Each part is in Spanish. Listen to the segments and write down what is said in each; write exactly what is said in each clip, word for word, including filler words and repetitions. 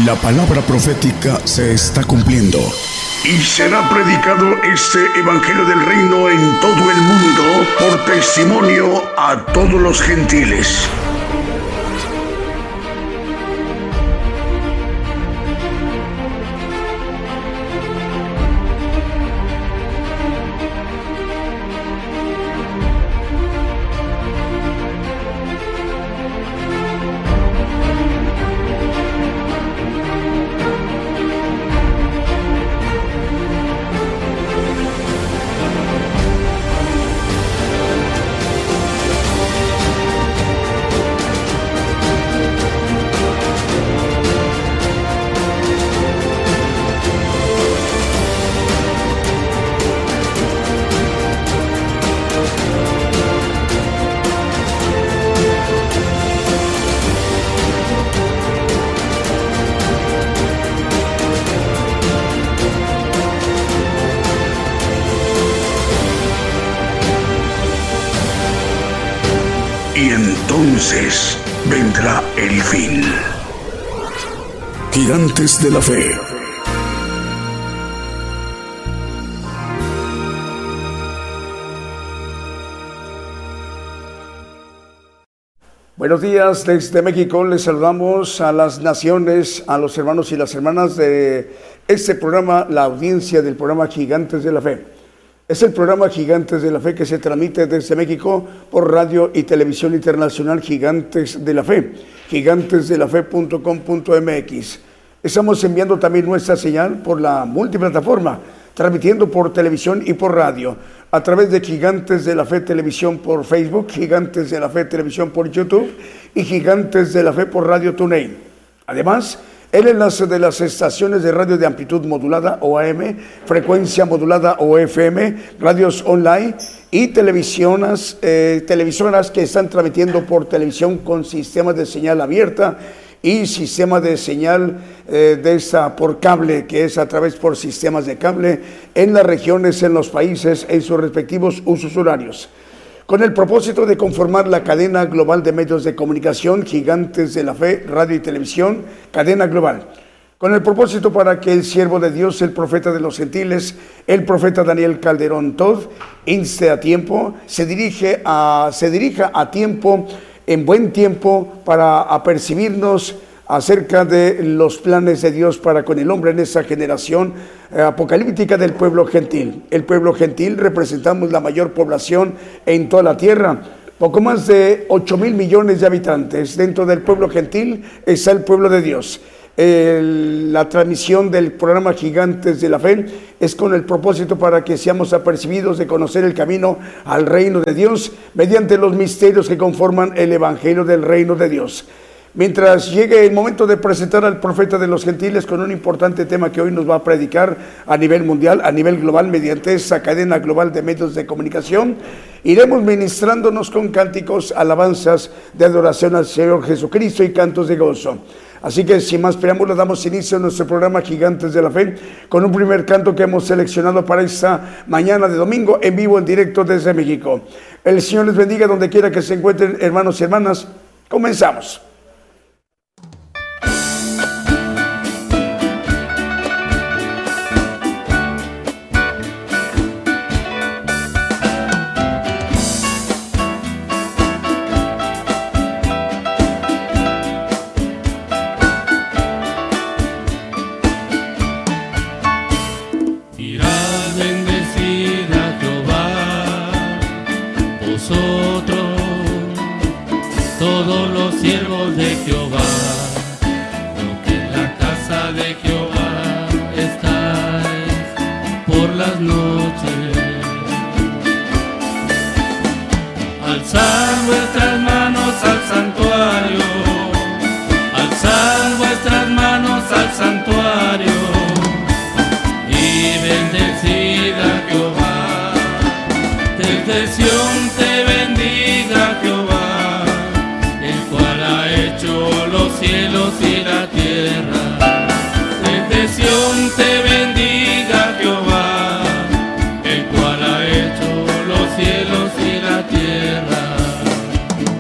La palabra profética se está cumpliendo. Y será predicado este evangelio del reino en todo el mundo por testimonio a todos los gentiles. Y entonces vendrá el fin. Gigantes de la Fe. Buenos días desde México, les saludamos a las naciones, a los hermanos y las hermanas de este programa, la audiencia del programa Gigantes de la Fe. Es el programa Gigantes de la Fe que se transmite desde México por radio y televisión internacional Gigantes de la Fe, gigantes de la fe punto com punto m x. Estamos enviando también nuestra señal por la multiplataforma, transmitiendo por televisión y por radio, a través de Gigantes de la Fe Televisión por Facebook, Gigantes de la Fe Televisión por YouTube y Gigantes de la Fe por Radio TuneIn. Además, el enlace de las estaciones de radio de amplitud modulada o A M, frecuencia modulada o F M, radios online y televisiones, eh, televisoras que están transmitiendo por televisión con sistemas de señal abierta y sistema de señal eh, de esta por cable, que es a través por sistemas de cable en las regiones, en los países, en sus respectivos usos horarios. Con el propósito de conformar la cadena global de medios de comunicación, Gigantes de la Fe, radio y televisión, cadena global. Con el propósito para que el siervo de Dios, el profeta de los gentiles, el profeta Daniel Calderón Todd, inste a tiempo, se, dirige a, se dirija a tiempo, en buen tiempo, para apercibirnos acerca de los planes de Dios para con el hombre en esa generación eh, apocalíptica del pueblo gentil. El pueblo gentil representamos la mayor población en toda la tierra, poco más de ocho mil millones de habitantes. Dentro del pueblo gentil está el pueblo de Dios. El, la transmisión del programa Gigantes de la Fe es con el propósito para que seamos apercibidos de conocer el camino al reino de Dios mediante los misterios que conforman el evangelio del reino de Dios. Mientras llegue el momento de presentar al profeta de los gentiles con un importante tema que hoy nos va a predicar a nivel mundial, a nivel global, mediante esa cadena global de medios de comunicación, iremos ministrándonos con cánticos, alabanzas de adoración al Señor Jesucristo y cantos de gozo. Así que sin más preámbulos damos inicio a nuestro programa Gigantes de la Fe con un primer canto que hemos seleccionado para esta mañana de domingo en vivo, en directo desde México. El Señor les bendiga donde quiera que se encuentren, hermanos y hermanas. Comenzamos. Todos los siervos de Jehová, lo que en la casa de Jehová estáis por las noches. Alzad vuestras manos al santuario, alzad vuestras manos al santuario y bendecid a Jehová. Desde Sión te bendiga Jehová, los cielos y la tierra. Desde Sión te bendiga Jehová, el cual ha hecho los cielos y la tierra.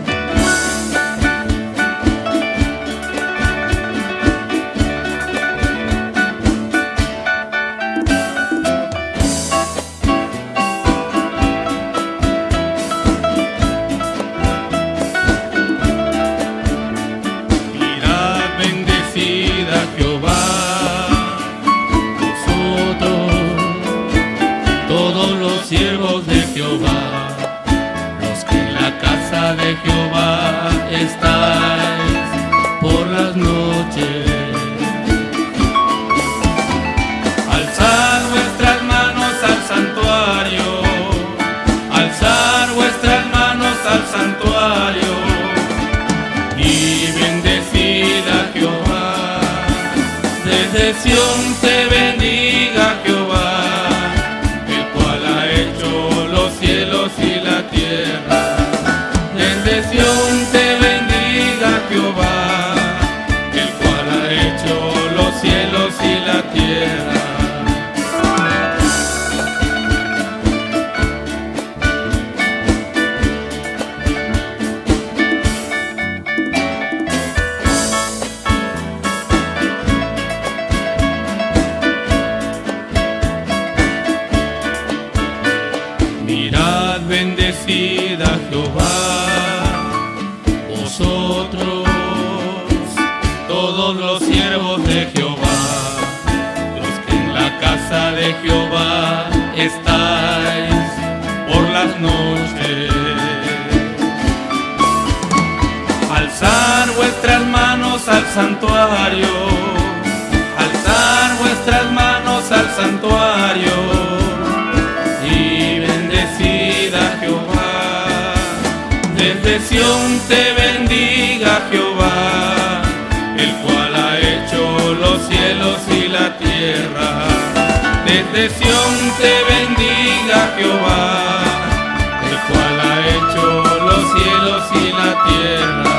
estáis por las noches. Alzad vuestras manos al santuario, alzad vuestras manos al santuario y bendecid a Jehová. Desde Sión te bendiga Jehová, el cual ha hecho los cielos y la tierra. Desde Sión te bendiga Jehová, el cual ha hecho los cielos y la tierra. Mirad, bendecid a Jehová, vosotros, todos los siervos de Jehová, los que en la casa de Jehová estáis por las noches. Alzad vuestras manos al santuario, alzad vuestras manos al santuario y bendecid a Jehová. Desde Sión te bendiga Jehová, el cual ha hecho los cielos y la tierra. Desde Sión te bendiga Jehová, el cual ha hecho los cielos y la tierra.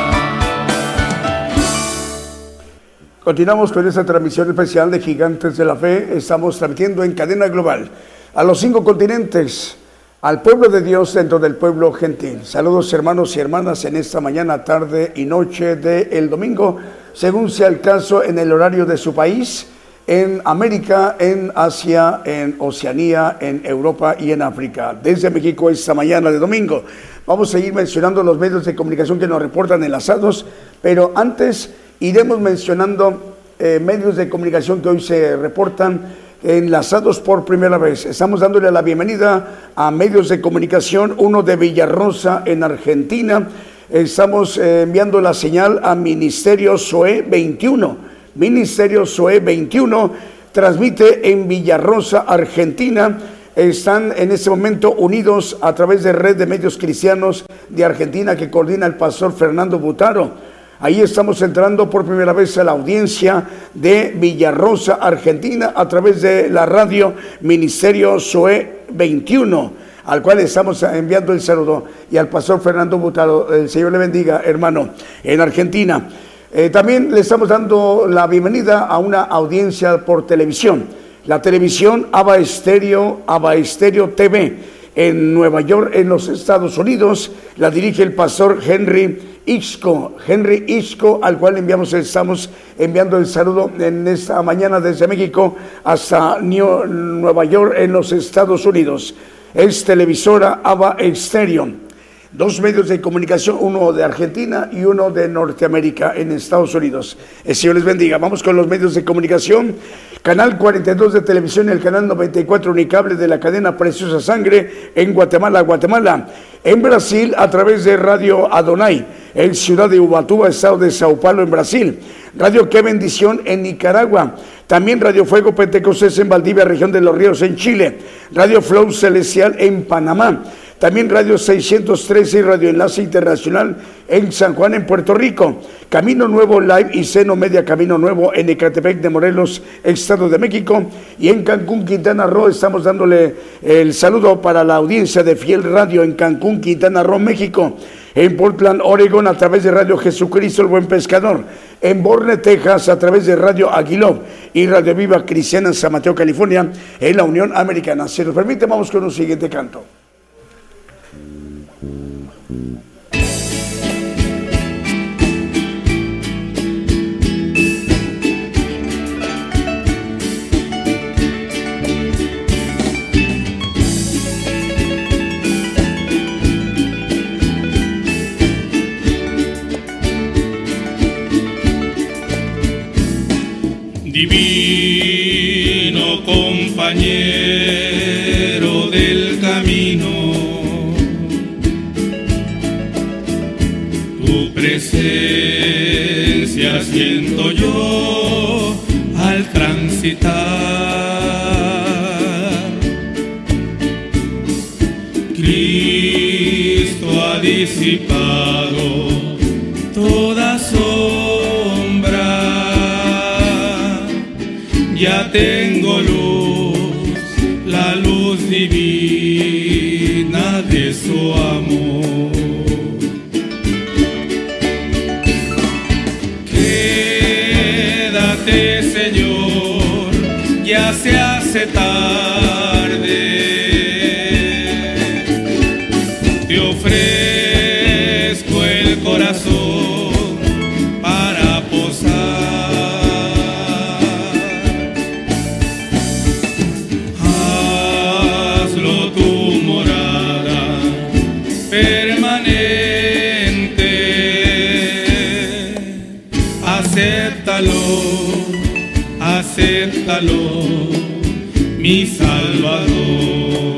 Continuamos con esta transmisión especial de Gigantes de la Fe. Estamos transmitiendo en cadena global a los cinco continentes, al pueblo de Dios dentro del pueblo gentil. Saludos hermanos y hermanas en esta mañana, tarde y noche del domingo, según sea el caso en el horario de su país, en América, en Asia, en Oceanía, en Europa y en África. Desde México esta mañana de domingo. Vamos a seguir mencionando los medios de comunicación que nos reportan enlazados, pero antes iremos mencionando eh, medios de comunicación que hoy se reportan enlazados por primera vez. Estamos dándole la bienvenida a medios de comunicación, uno de Villarrosa en Argentina. Estamos eh, enviando la señal a Ministerio Zoe veintiuno. Ministerio Zoe veintiuno transmite en Villarrosa, Argentina. Están en este momento unidos a través de Red de Medios Cristianos de Argentina que coordina el pastor Fernando Butaro. Ahí estamos entrando por primera vez a la audiencia de Villarrosa, Argentina, a través de la radio Ministerio Zoe veintiuno, al cual estamos enviando el saludo, y al pastor Fernando Butaro. El Señor le bendiga, hermano, en Argentina. Eh, también le estamos dando la bienvenida a una audiencia por televisión, la televisión Aba Estéreo, Aba Estéreo T V. En Nueva York, en los Estados Unidos, la dirige el pastor Henry Isco, Henry Isco, al cual enviamos, estamos enviando el saludo en esta mañana desde México hasta New, Nueva York, en los Estados Unidos. Es televisora Aba Estéreo. Dos medios de comunicación, uno de Argentina y uno de Norteamérica en Estados Unidos. El Señor les bendiga. Vamos con los medios de comunicación. Canal cuarenta y dos de televisión y el canal noventa y cuatro unicable de la cadena Preciosa Sangre en Guatemala, Guatemala. En Brasil, a través de Radio Adonai, en Ciudad de Ubatuba, estado de Sao Paulo, en Brasil. Radio Qué Bendición en Nicaragua. También Radio Fuego Pentecostés en Valdivia, región de Los Ríos, en Chile. Radio Flow Celestial en Panamá. También Radio seiscientos trece y Radio Enlace Internacional en San Juan, en Puerto Rico. Camino Nuevo Live y Seno Media Camino Nuevo en Ecatepec de Morelos, Estado de México. Y en Cancún, Quintana Roo, estamos dándole el saludo para la audiencia de Fiel Radio en Cancún, Quintana Roo, México. En Portland, Oregon, a través de Radio Jesucristo el Buen Pescador. En Borne, Texas, a través de Radio Aguiló y Radio Viva Cristiana en San Mateo, California, en la Unión Americana. Si nos permite, vamos con un siguiente canto. Divino compañero del camino, tú Tu presencia siento yo al transitar. Cristo ha disipado toda sombra. Ya tengo luz, la luz divina de su amor. Quédate, Señor, ya se hace tarde. Te ofrezco el corazón para posar. Hazlo tu morada permanente. Acéptalo, acéptalo, mi Salvador.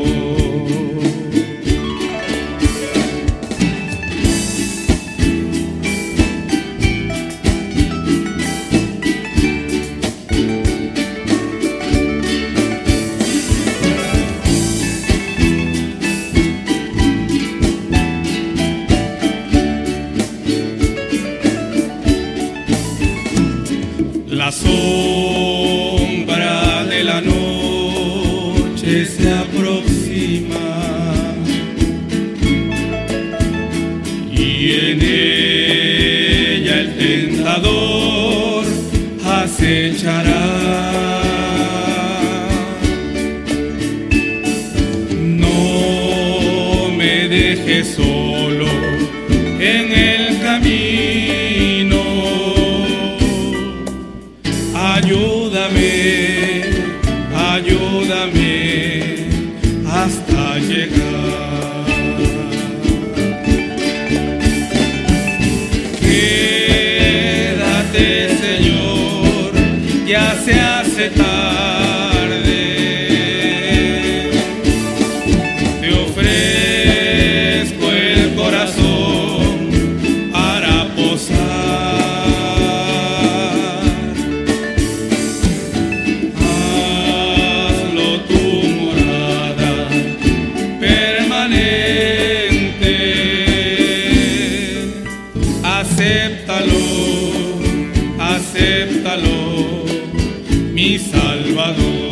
La sombra de la noche se aproxima y en ella el tentador acechará. No me dejes solo en el camino. Ayúdame, ayúdame hasta llegar. Quédate, Señor, ya se hace tarde. Te ofrezco el corazón para posar. Acéptalo, acéptalo, mi Salvador.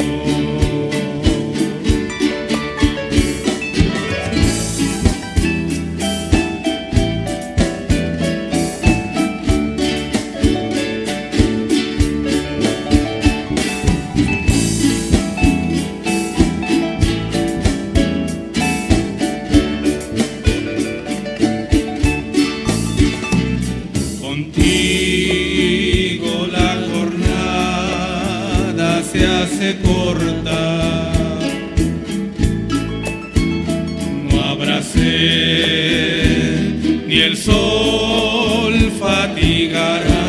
Contigo la jornada se hace corta, no habrá sed ni el sol fatigará.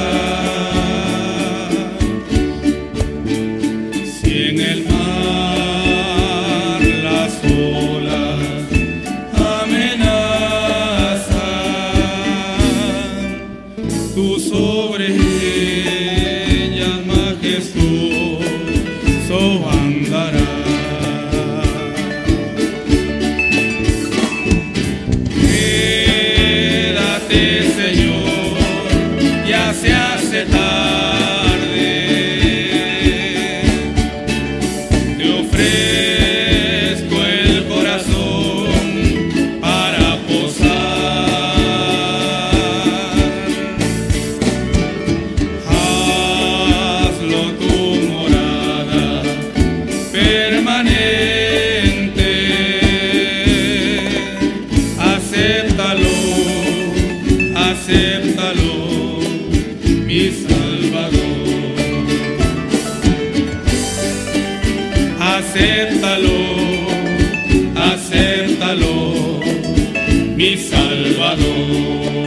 Si en el mar las olas amenazan, tú sobre ellas majestuoso andarás. Quédate, Señor, ya se hace tarde. Te ofrezco el corazón para posar. Hazlo tu morada permanente. Acéptalo, acéptalo, mi Salvador. Acéptalo, acéptalo, mi Salvador.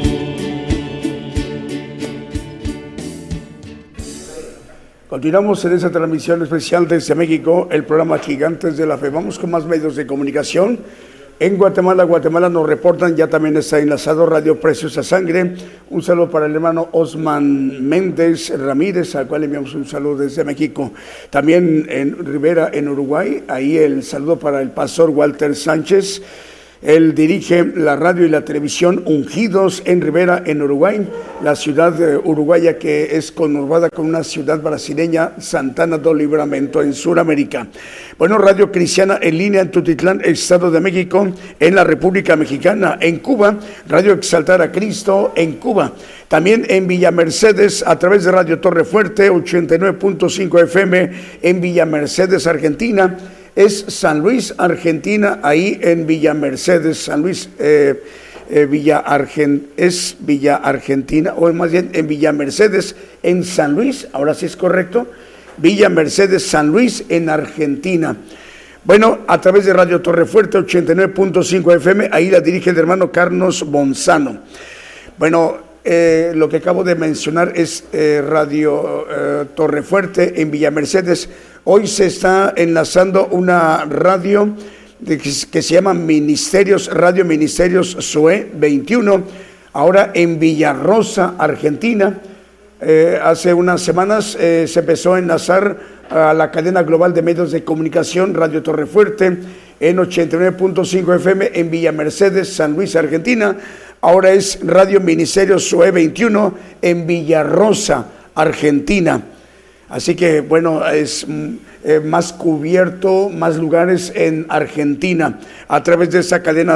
Continuamos en esta transmisión especial desde México, el programa Gigantes de la Fe. Vamos con más medios de comunicación. En Guatemala, Guatemala nos reportan, ya también está enlazado Radio Preciosa Sangre. Un saludo para el hermano Osman Méndez Ramírez, al cual enviamos un saludo desde México. También en Rivera, en Uruguay, ahí el saludo para el pastor Walter Sánchez. Él dirige la radio y la televisión Ungidos en Rivera, en Uruguay, la ciudad eh, uruguaya que es conurbada con una ciudad brasileña, Santana do Livramento, en Sudamérica. Bueno, Radio Cristiana en línea en Tutitlán, Estado de México, en la República Mexicana. En Cuba, Radio Exaltar a Cristo en Cuba. También en Villa Mercedes, a través de Radio Torre Fuerte, ochenta y nueve punto cinco F M, en Villa Mercedes, Argentina. Es San Luis, Argentina, ahí en Villa Mercedes, San Luis, eh, eh, Villa Argen, es Villa Argentina, o más bien en Villa Mercedes, en San Luis, ahora sí es correcto, Villa Mercedes, San Luis, en Argentina. Bueno, a través de Radio Torre Fuerte, ochenta y nueve punto cinco F M, ahí la dirige el hermano Carlos Bonzano. Bueno, eh, lo que acabo de mencionar es eh, Radio eh, Torre Fuerte en Villa Mercedes. Hoy se está enlazando una radio de, que, que se llama Ministerios, Radio Ministerios S U E veintiuno, ahora en Villarrosa, Argentina. Eh, hace unas semanas eh, se empezó a enlazar a la cadena global de medios de comunicación Radio Torre Fuerte en ochenta y nueve punto cinco F M en Villa Mercedes, San Luis, Argentina. Ahora es Radio Ministerios S U E veintiuno en Villarrosa, Argentina. Así que, bueno, es eh, más cubierto, más lugares en Argentina a través de esa cadena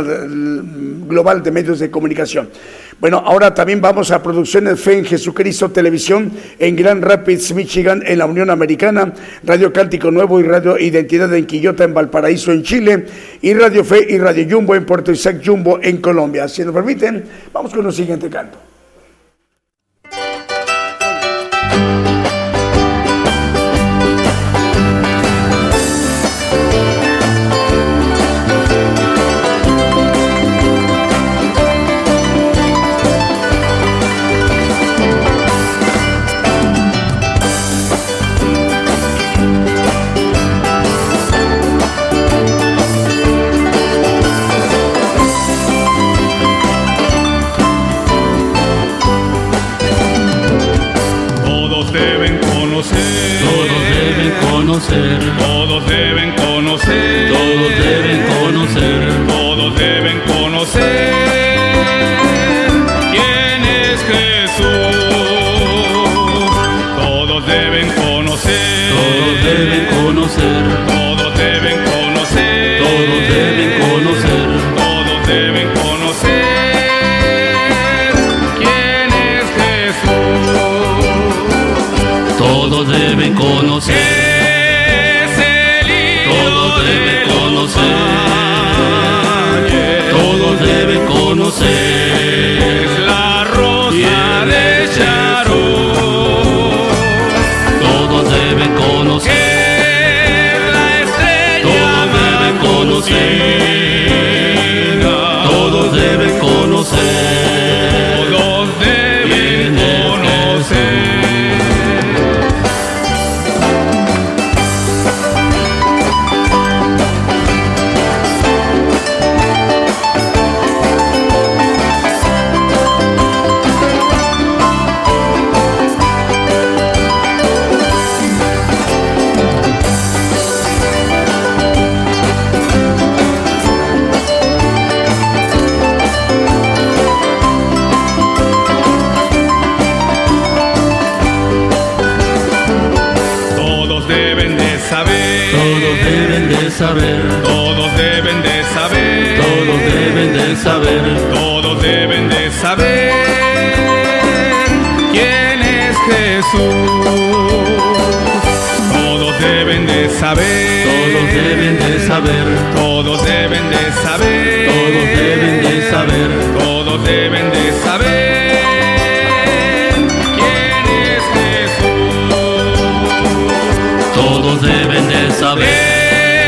global de medios de comunicación. Bueno, ahora también vamos a Producciones Fe en Jesucristo Televisión en Grand Rapids, Michigan, en la Unión Americana, Radio Cántico Nuevo y Radio Identidad en Quillota, en Valparaíso, en Chile, y Radio Fe y Radio Jumbo en Puerto Isaac Jumbo, en Colombia. Si nos permiten, vamos con el siguiente canto. Todos deben conocer, todos deben conocer, todos deben conocer quién es Jesús. Todos deben conocer, todos deben conocer, todos deben conocer, todos deben conocer, todos deben conocer quién es Jesús. Todos deben conocer. Todos deben conocer, es la rosa de Sharon. Todos deben conocer, la estrella. Todos deben conocer, todos deben conocer, todos deben conocer. Saber, todos deben de saber, todos deben de saber, todos deben de saber quién es Jesús. Todos deben de saber, todos deben de saber, todos deben de saber, todos deben de saber, todos deben de saber quién es Jesús. Todos deben de saber.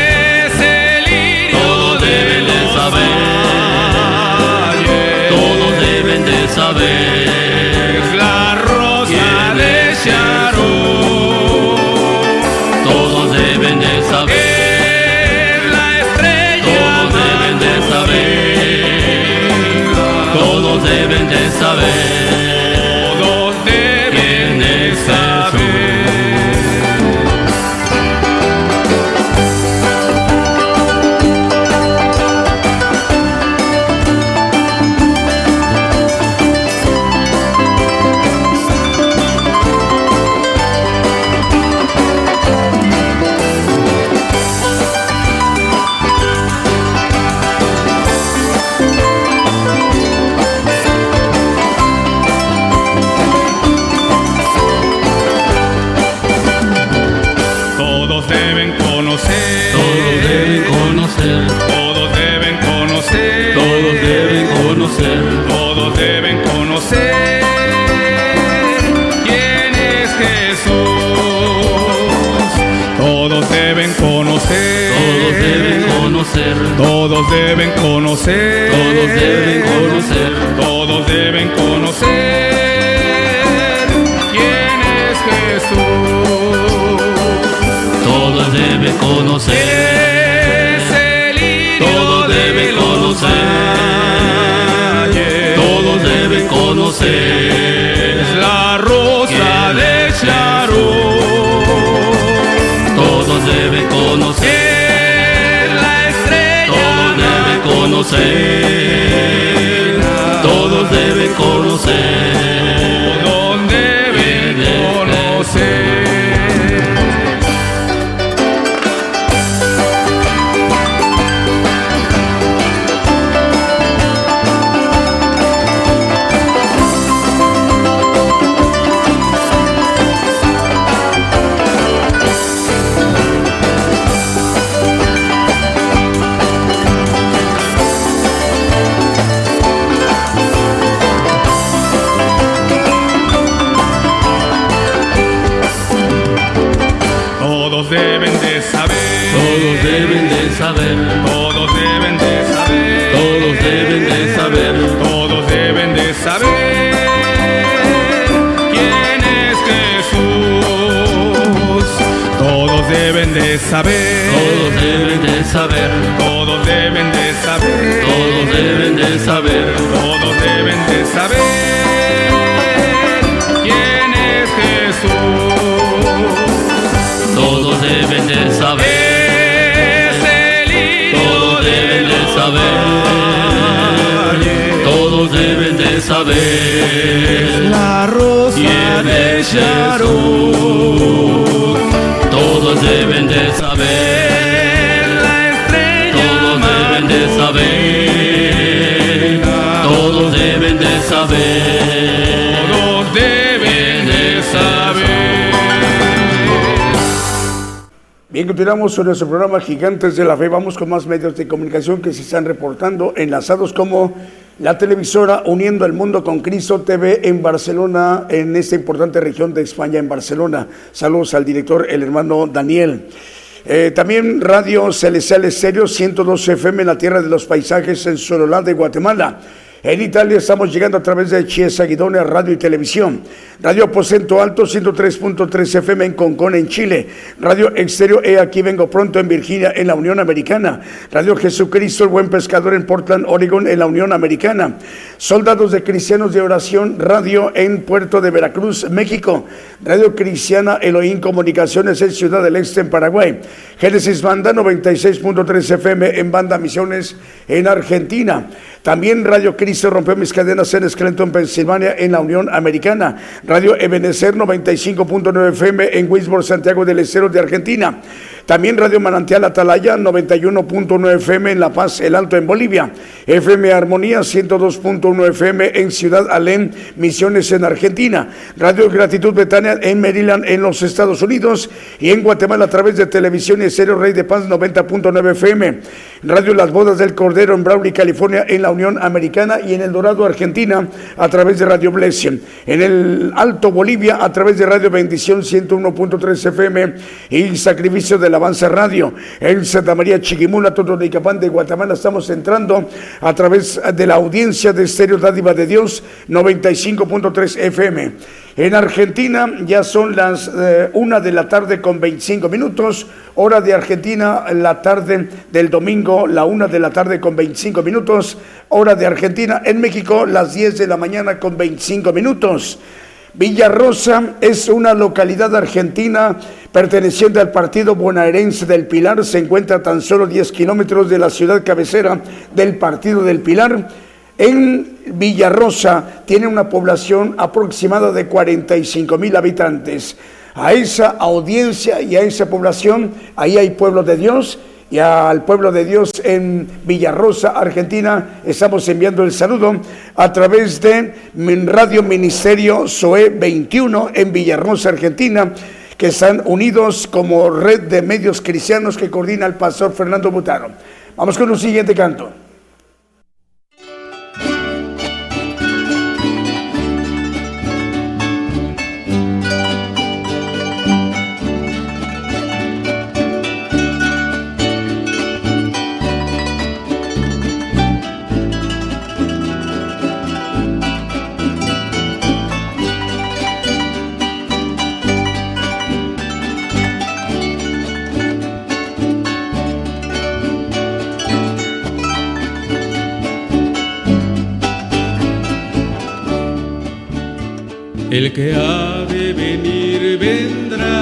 Saber, es la rosa de Sharon. Todos deben de saber, la estrella. Todos deben de saber. conocer quién es Jesús. Todos deben conocer, todos deben conocer, todos deben conocer, todos deben conocer, todos deben conocer quién es Jesús. Todos deben conocer. Todos deben conocer, todos deben conocer, es la rosa de Sharon. Todos deben conocer, la estrella. Todos deben conocer, todos deben conocer, Todos deben conocer. Todos deben de saber, todos deben de saber, todos deben de saber, todos deben de saber, todos deben de saber quién es Jesús. Todos deben de saber, todos deben de saber, todos deben de saber, todos deben de saber, todos deben de saber quién es Jesús. todos deben de saber, Es el Hijo todos deben de saber, todos deben de saber, la rosa de Sharon. todos deben de saber, La estrella. todos deben de saber, todos deben de saber, Todos deben de saber. Bien, continuamos con nuestro programa Gigantes de la Fe. Vamos con más medios de comunicación que se están reportando, enlazados como la televisora Uniendo el Mundo con Cristo T V en Barcelona, en esta importante región de España, en Barcelona. Saludos al director, el hermano Daniel. Eh, también Radio Celestial Estéreo ciento dos F M en la Tierra de los Paisajes en Sololá de Guatemala. En Italia estamos llegando a través de Chiesa Guidonia Radio y Televisión. Radio Aposento Alto ciento tres punto tres F M en Concón, en Chile. Radio Exterior E Aquí Vengo Pronto en Virginia, en la Unión Americana. Radio Jesucristo el Buen Pescador en Portland, Oregon, en la Unión Americana. Soldados de Cristianos de Oración Radio en Puerto de Veracruz, México. Radio Cristiana Elohim Comunicaciones en Ciudad del Este, en Paraguay. Génesis Banda noventa y seis punto tres F M en Banda Misiones, en Argentina. También Radio Cristo Rompió Mis Cadenas en Scranton, Pensilvania, en la Unión Americana. Radio Ebenecer noventa y cinco punto nueve F M en Wisborne, Santiago del Estero de Argentina. También Radio Manantial Atalaya noventa y uno punto nueve F M en La Paz, El Alto, en Bolivia. F M Armonía ciento dos punto uno F M en Ciudad Alén, Misiones, en Argentina. Radio Gratitud Betania en Maryland, en los Estados Unidos. Y en Guatemala a través de televisión y estéreo Rey de Paz noventa punto nueve F M. Radio Las Bodas del Cordero en Brawley, California, en la Unión Americana. Y en El Dorado, Argentina, a través de Radio Blessing. En el Alto Bolivia a través de Radio Bendición ciento uno punto tres F M y Sacrificio de la Avanza Radio. En Santa María Chiquimula, Totonicapán de Guatemala, estamos entrando a través de la audiencia de Estéreo Dádiva de Dios noventa y cinco punto tres F M. En Argentina ya son las eh, una de la tarde con veinticinco minutos, hora de Argentina, la tarde del domingo, la una de la tarde con veinticinco minutos, hora de Argentina. En México, las diez de la mañana con veinticinco minutos. Villarrosa es una localidad argentina perteneciente al partido bonaerense del Pilar. Se encuentra a tan solo diez kilómetros de la ciudad cabecera del partido del Pilar. En Villarrosa tiene una población aproximada de cuarenta y cinco mil habitantes. A esa audiencia y a esa población, ahí hay pueblo de Dios. Y al pueblo de Dios en Villarrosa, Argentina, estamos enviando el saludo a través de Radio Ministerio Zoe veintiuno en Villarrosa, Argentina, que están unidos como red de medios cristianos que coordina el pastor Fernando Butaro. Vamos con un siguiente canto. el que ha de venir vendrá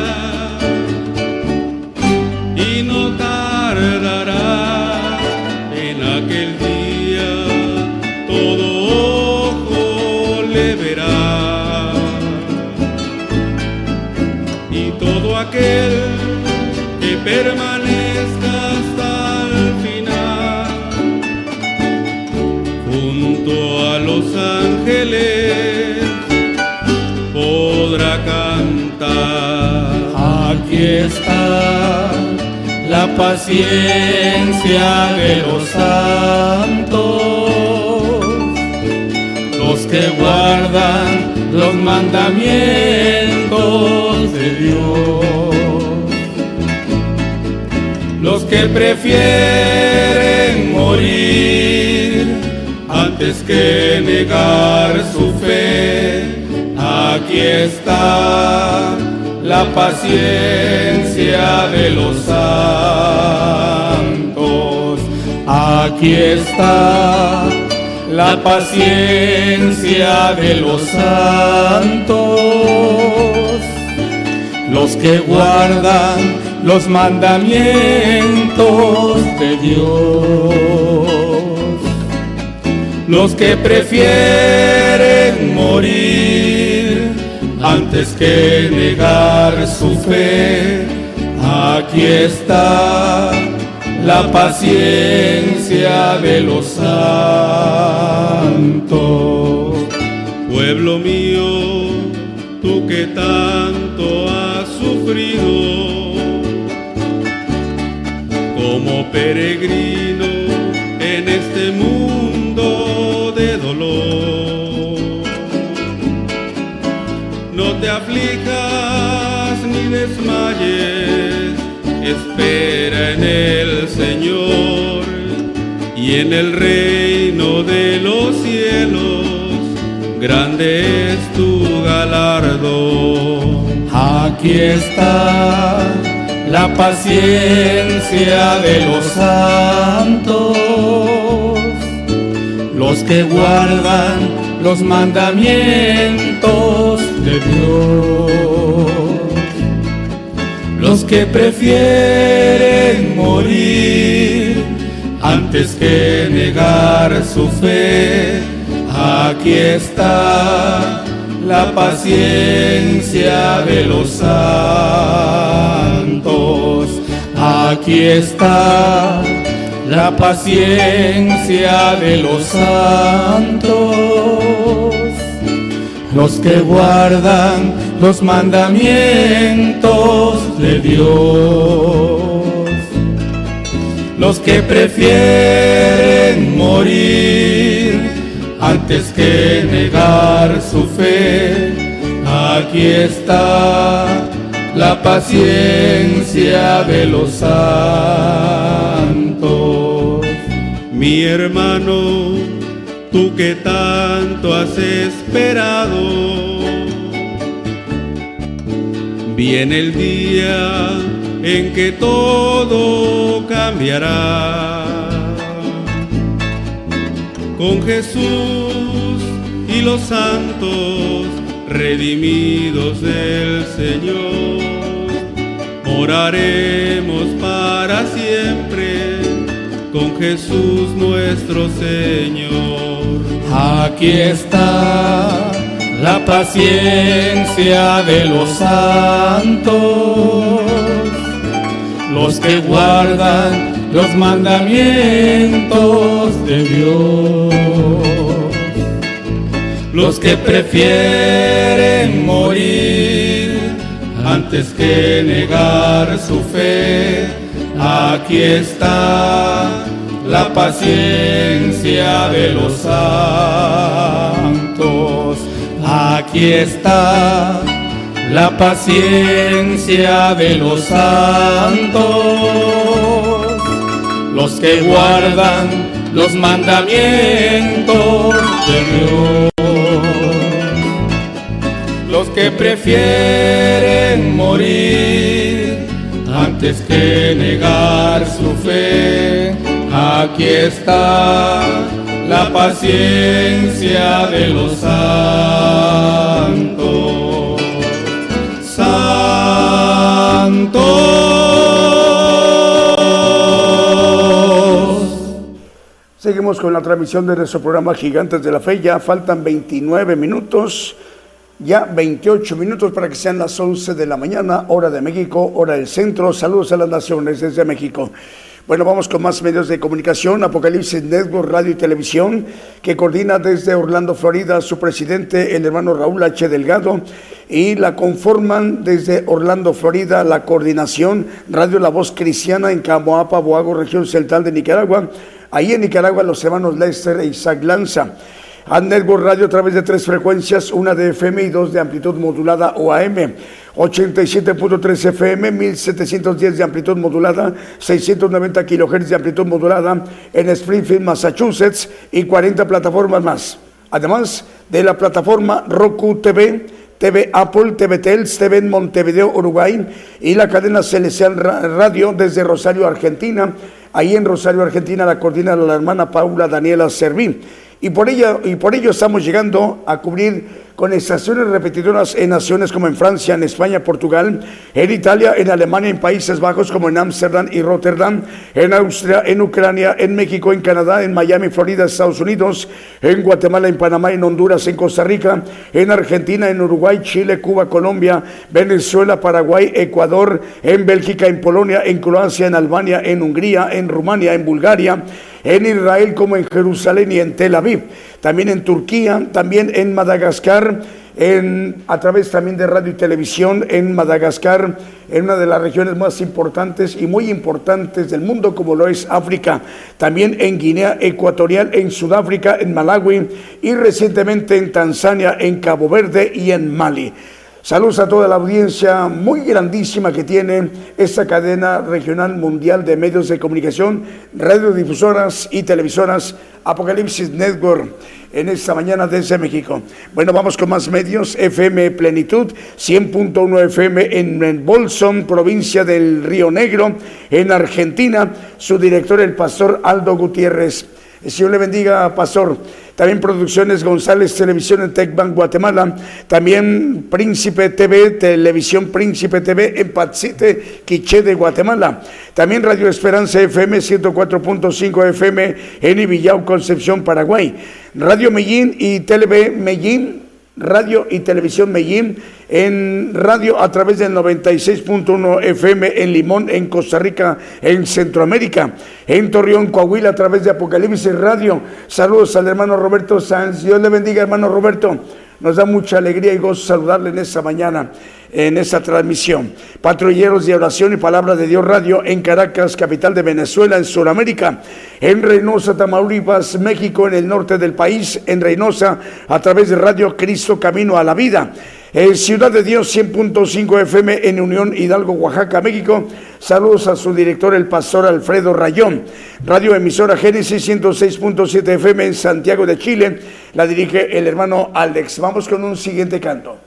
y no tardará. En aquel día todo ojo le verá, y todo aquel que permanezca hasta el final junto a los ángeles podrá cantar. Aquí está la paciencia de los santos, los que guardan los mandamientos de Dios, los que prefieren morir antes que negar su fe. Aquí está la paciencia de los santos. Aquí está la paciencia de los santos, los que guardan los mandamientos de Dios, los que prefieren morir antes que negar su fe. Aquí está la paciencia de los santos. Pueblo mío, tú que tanto has sufrido como peregrino en este mundo de dolor, no te aflijas ni desmayes, espera en el Señor y en el reino de los cielos grande es tu galardón. Aquí está la paciencia de los santos, los que guardan los mandamientos de Dios, los que prefieren morir antes que negar su fe. Aquí está la paciencia de los santos. Aquí está la paciencia de los santos, los que guardan los mandamientos de Dios, los que prefieren morir antes que negar su fe. Aquí está la paciencia de los santos. Mi hermano, tú que tanto has esperado, viene el día en que todo cambiará. Con Jesús y los santos redimidos del Señor, moraremos para siempre con Jesús nuestro Señor. Aquí está la paciencia de los santos, los que guardan los mandamientos de Dios, los que prefieren morir antes que negar su fe. Aquí está la paciencia de los santos. Aquí está la paciencia de los santos, los que guardan los mandamientos de Dios, los que prefieren morir antes que negar su fe. Aquí está la paciencia de los santos. seguimos con la transmisión de nuestro programa Gigantes de la Fe. Ya faltan veintinueve minutos, ya veintiocho minutos para que sean las once de la mañana, hora de México, hora del centro. Saludos a las naciones desde México. Bueno, vamos con más medios de comunicación. Apocalipsis Network, radio y televisión, que coordina desde Orlando, Florida, su presidente, el hermano Raúl H. Delgado, y la conforman desde Orlando, Florida, la coordinación Radio La Voz Cristiana en Camoapa, Boago, región central de Nicaragua. Ahí en Nicaragua, los hermanos Lester e Isaac Lanza. A Network Radio a través de tres frecuencias, una de F M y dos de amplitud modulada o A M. ochenta y siete punto tres F M, mil setecientos diez de amplitud modulada, seiscientos noventa kilohertz de amplitud modulada en Springfield, Massachusetts, y cuarenta plataformas más. Además de la plataforma Roku T V, T V Apple, T V Tels, T V en Montevideo, Uruguay, y la cadena Celestial Radio desde Rosario, Argentina. Ahí en Rosario, Argentina, la coordina la hermana Paula Daniela Servín. Y por, ella, y por ello estamos llegando a cubrir con estaciones repetidoras en naciones como en Francia, en España, Portugal, en Italia, en Alemania, en Países Bajos como en Ámsterdam y Rotterdam, en Austria, en Ucrania, en México, en Canadá, en Miami, Florida, Estados Unidos, en Guatemala, en Panamá, en Honduras, en Costa Rica, en Argentina, en Uruguay, Chile, Cuba, Colombia, Venezuela, Paraguay, Ecuador, en Bélgica, en Polonia, en Croacia, en Albania, en Hungría, en Rumania, en Bulgaria, en Israel como en Jerusalén y en Tel Aviv, también en Turquía, también en Madagascar, en, a través también de radio y televisión en Madagascar, en una de las regiones más importantes y muy importantes del mundo como lo es África, también en Guinea Ecuatorial, en Sudáfrica, en Malawi y recientemente en Tanzania, en Cabo Verde y en Mali. Saludos a toda la audiencia muy grandísima que tiene esta cadena regional mundial de medios de comunicación, radiodifusoras y televisoras Apocalipsis Network en esta mañana desde México. Bueno, vamos con más medios. F M Plenitud, cien punto uno F M en, en Bolson, provincia del Río Negro, en Argentina. Su director, el pastor Aldo Gutiérrez. El Señor le bendiga, pastor. También Producciones González Televisión en Tecban, Guatemala. También Príncipe T V, Televisión Príncipe T V en Patsite, Quiché de Guatemala. También Radio Esperanza F M ciento cuatro punto cinco F M en Ibillau, Concepción, Paraguay. Radio Medellín y Tele Medellín, Radio y Televisión Medellín en radio a través del noventa y seis punto uno F M en Limón, en Costa Rica, en Centroamérica. En Torreón, Coahuila, a través de Apocalipsis Radio. Saludos al hermano Roberto Sanz. Dios le bendiga, hermano Roberto. Nos da mucha alegría y gozo saludarle en esta mañana, en esta transmisión. Patrulleros de Oración y Palabra de Dios Radio en Caracas, capital de Venezuela, en Sudamérica. En Reynosa, Tamaulipas, México, en el norte del país. En Reynosa, a través de Radio Cristo Camino a la Vida. En Ciudad de Dios, cien punto cinco F M en Unión Hidalgo, Oaxaca, México. Saludos a su director, el pastor Alfredo Rayón. Radio Emisora Génesis, ciento seis punto siete F M en Santiago de Chile. La dirige el hermano Alex. Vamos con un siguiente canto.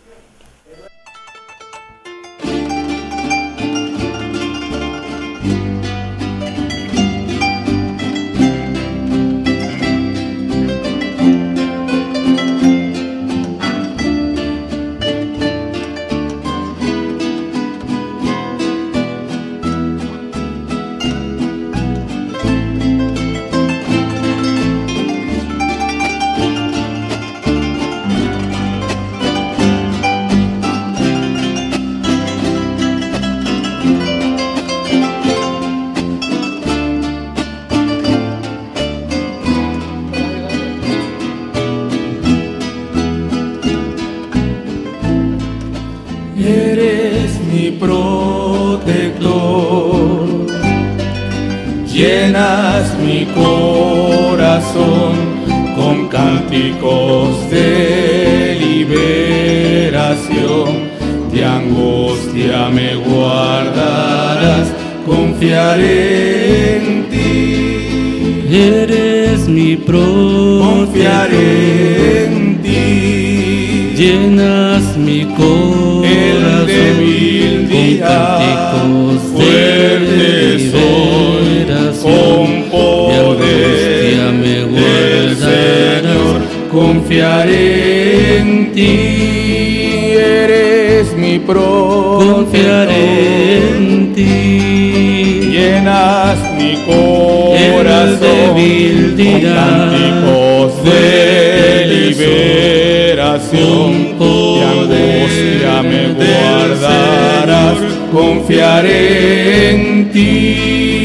Llenas mi corazón con cánticos de liberación, de angustia me guardarás, confiaré en ti. Eres mi protector, confiaré en ti. Llenas mi corazón el débil día, con cánticos fuerte soy, con poder me del Señor confiaré en ti. Eres mi protector, confiaré en ti. Llenas mi corazón el débil día, cánticos de liberación, de angustia me guardarás, confiaré en ti.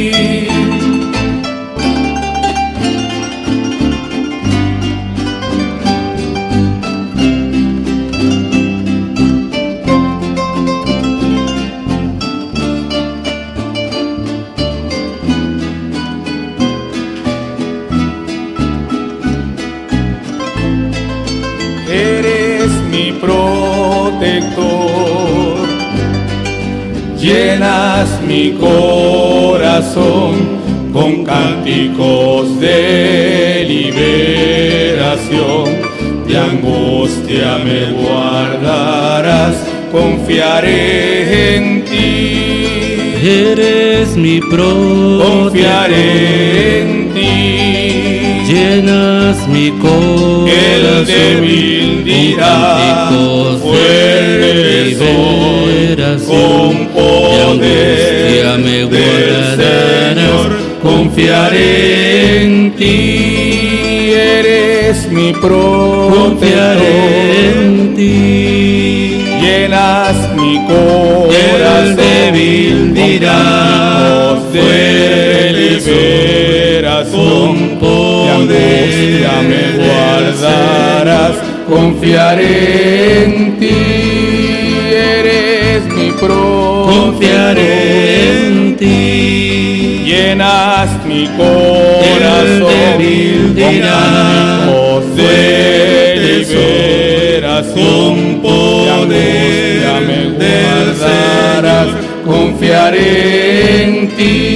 Llenas mi corazón con cánticos de liberación, de angustia me guardarás, confiaré en ti. Eres mi protector, confiaré en ti. Llenas mi corazón, el débil dirá, fuerte soy, con poder me del Señor confiaré en ti. Eres mi protector, en ti. Llenas mi corazón, el débil dirá, de liberación, de angustia me guardarás, confiaré en ti. Eres mi protector, confiaré en ti. Llenas mi corazón, el débil dirá, con de liberación, de angustia me guardarás, confiaré en ti.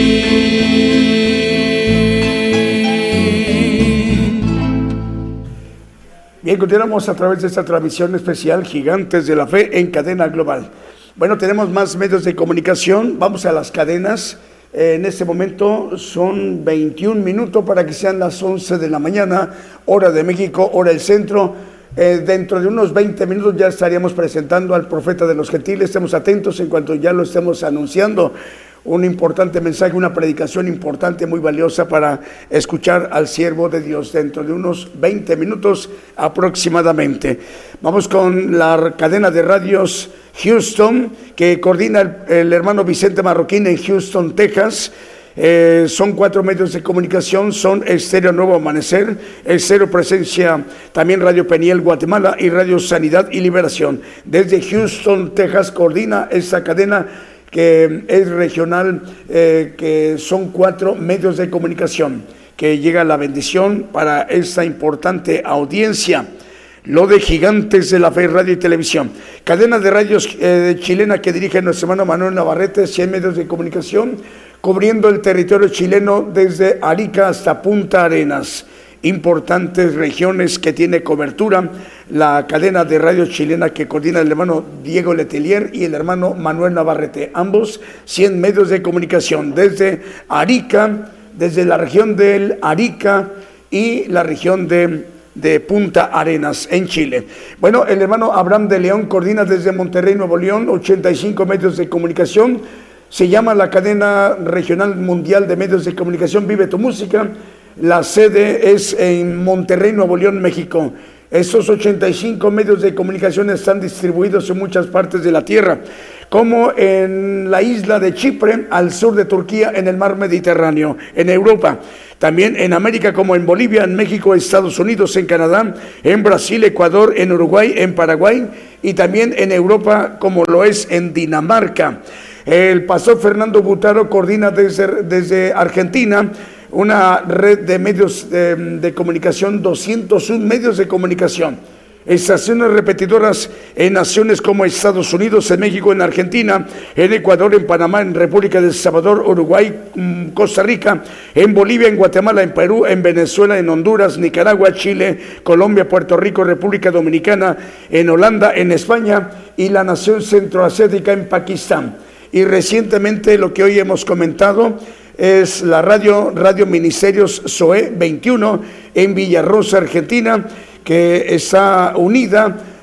Bien, continuamos a través de esta transmisión especial Gigantes de la Fe en cadena global. Bueno, tenemos más medios de comunicación, vamos a las cadenas. Eh, en este momento son veintiún minutos para que sean las once de la mañana, hora de México, hora del centro. Eh, dentro de unos veinte minutos ya estaríamos presentando al profeta de los gentiles. Estemos atentos en cuanto ya lo estemos anunciando. Un importante mensaje, una predicación importante, muy valiosa para escuchar al siervo de Dios dentro de unos veinte minutos aproximadamente. Vamos con la cadena de radios Houston, que coordina el, el hermano Vicente Marroquín en Houston, Texas. Eh, son cuatro medios de comunicación, son Estéreo Nuevo Amanecer, Estéreo Presencia, también Radio Peniel Guatemala y Radio Sanidad y Liberación. Desde Houston, Texas, coordina esta cadena que es regional, eh, que son cuatro medios de comunicación, que llega la bendición para esta importante audiencia. Lo de Gigantes de la Fe, radio y televisión. Cadena de radios eh, chilena que dirige nuestro hermano Manuel Navarrete, cien medios de comunicación, cubriendo el territorio chileno desde Arica hasta Punta Arenas. Importantes regiones que tiene cobertura la cadena de radio chilena que coordina el hermano Diego Letelier y el hermano Manuel Navarrete, ambos cien medios de comunicación desde Arica, desde la región del Arica y la región de, de Punta Arenas en Chile. Bueno, el hermano Abraham de León coordina desde Monterrey, Nuevo León, ochenta y cinco medios de comunicación. Se llama la cadena regional mundial de medios de comunicación Vive tu Música. La sede es en Monterrey, Nuevo León, México. Estos ochenta y cinco medios de comunicación están distribuidos en muchas partes de la tierra, como en la isla de Chipre, al sur de Turquía, en el mar Mediterráneo, en Europa. También en América, como en Bolivia, en México, Estados Unidos, en Canadá, en Brasil, Ecuador, en Uruguay, en Paraguay, y también en Europa, como lo es en Dinamarca. El pastor Fernando Butaro coordina desde, desde Argentina una red de medios de, de comunicación, doscientos uno medios de comunicación, estaciones repetidoras en naciones como Estados Unidos, en México, en Argentina, en Ecuador, en Panamá, en República del Salvador, Uruguay, Costa Rica, en Bolivia, en Guatemala, en Perú, en Venezuela, en Honduras, Nicaragua, Chile, Colombia, Puerto Rico, República Dominicana, en Holanda, en España y la nación centroasiática en Pakistán. Y recientemente lo que hoy hemos comentado es la radio, Radio Ministerios S O E veintiuno en Villarrosa, Argentina, que está unida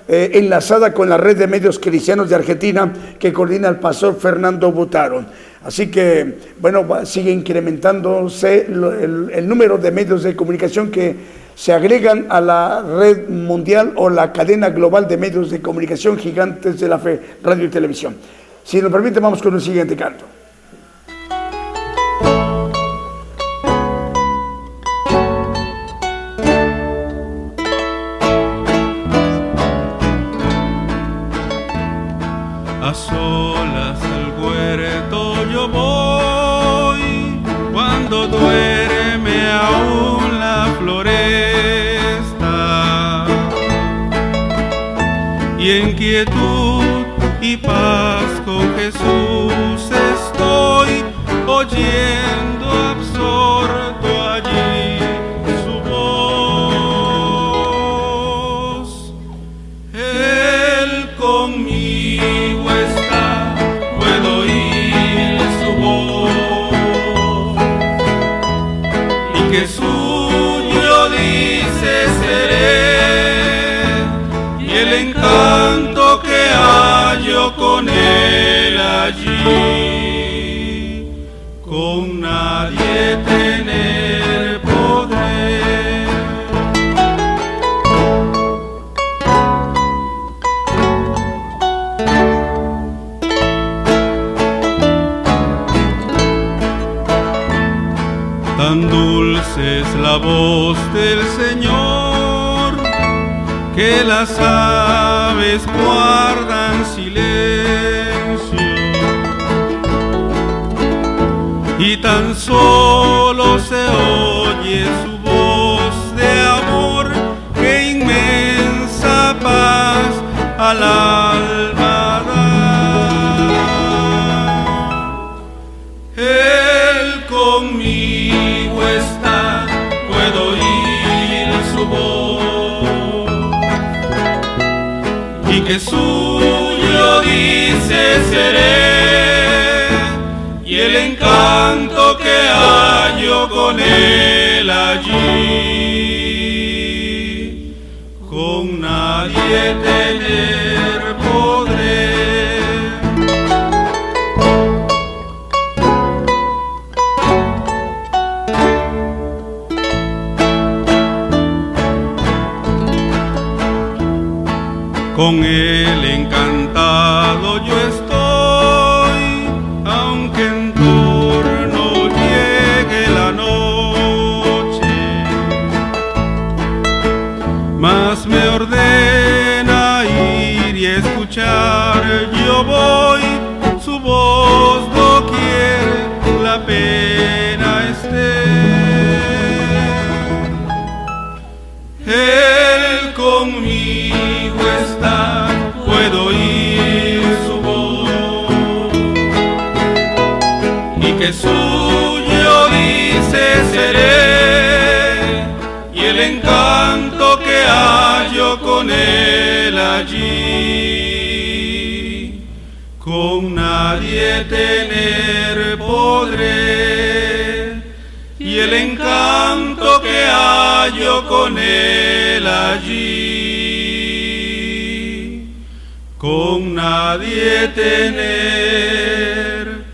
eh, enlazada con la red de medios cristianos de Argentina que coordina el pastor Fernando Butaro. Así que, bueno, va, sigue incrementándose el, el, el número de medios de comunicación que se agregan a la red mundial o la cadena global de medios de comunicación Gigantes de la Fe, radio y televisión. Si nos permite, vamos con el siguiente canto. A solas al huerto yo voy, cuando duerme aún la floresta, y en quietud y paz con Jesús estoy, oyendo absorto allí su voz. Él conmigo está, puedo oír su voz, y que suyo dice seré, y el encanto que hallo con él allí, con nadie tener poder. Tan dulce es la voz del Señor, que las aves guardan silencio, y tan solo se oye su voz de amor, que inmensa paz al alma da. Él conmigo está, puedo oír su voz, y que suyo dice seré, y el encanto que hallo con él allí, con nadie tener podré. Con él encantado yo estoy, aunque en torno llegue la noche, mas me ordena ir y escuchar, yo voy, su voz doquier la pena esté. Él conmigo está, puedo oír su voz, y que suyo dice seré, y el encanto que hallo con él allí, con nadie tener podré, y el encanto que hallo con él allí, con nadie tener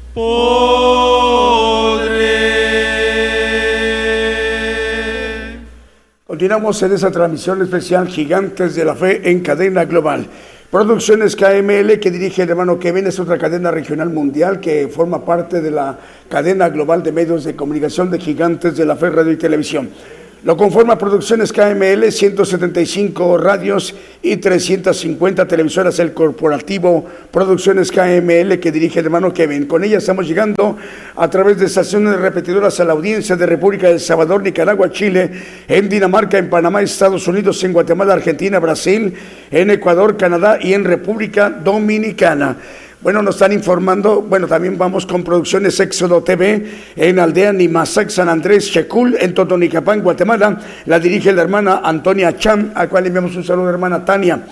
podré. Continuamos en esa transmisión especial Gigantes de la Fe en cadena global. Producciones K M L, que dirige el hermano Kevin, es otra cadena regional mundial que forma parte de la cadena global de medios de comunicación de Gigantes de la Fe, radio y televisión. Lo conforma Producciones K M L, ciento setenta y cinco radios y trescientas cincuenta televisoras, el corporativo Producciones K M L, que dirige el hermano Kevin. Con ella estamos llegando a través de estaciones repetidoras a la audiencia de República del Salvador, Nicaragua, Chile, en Dinamarca, en Panamá, Estados Unidos, en Guatemala, Argentina, Brasil, en Ecuador, Canadá y en República Dominicana. Bueno, nos están informando, bueno, también vamos con Producciones Éxodo T V en Aldea Nimasac, San Andrés, Checul, en Totonicapán, Guatemala. La dirige la hermana Antonia Cham, a la cual enviamos un saludo, hermana Tania.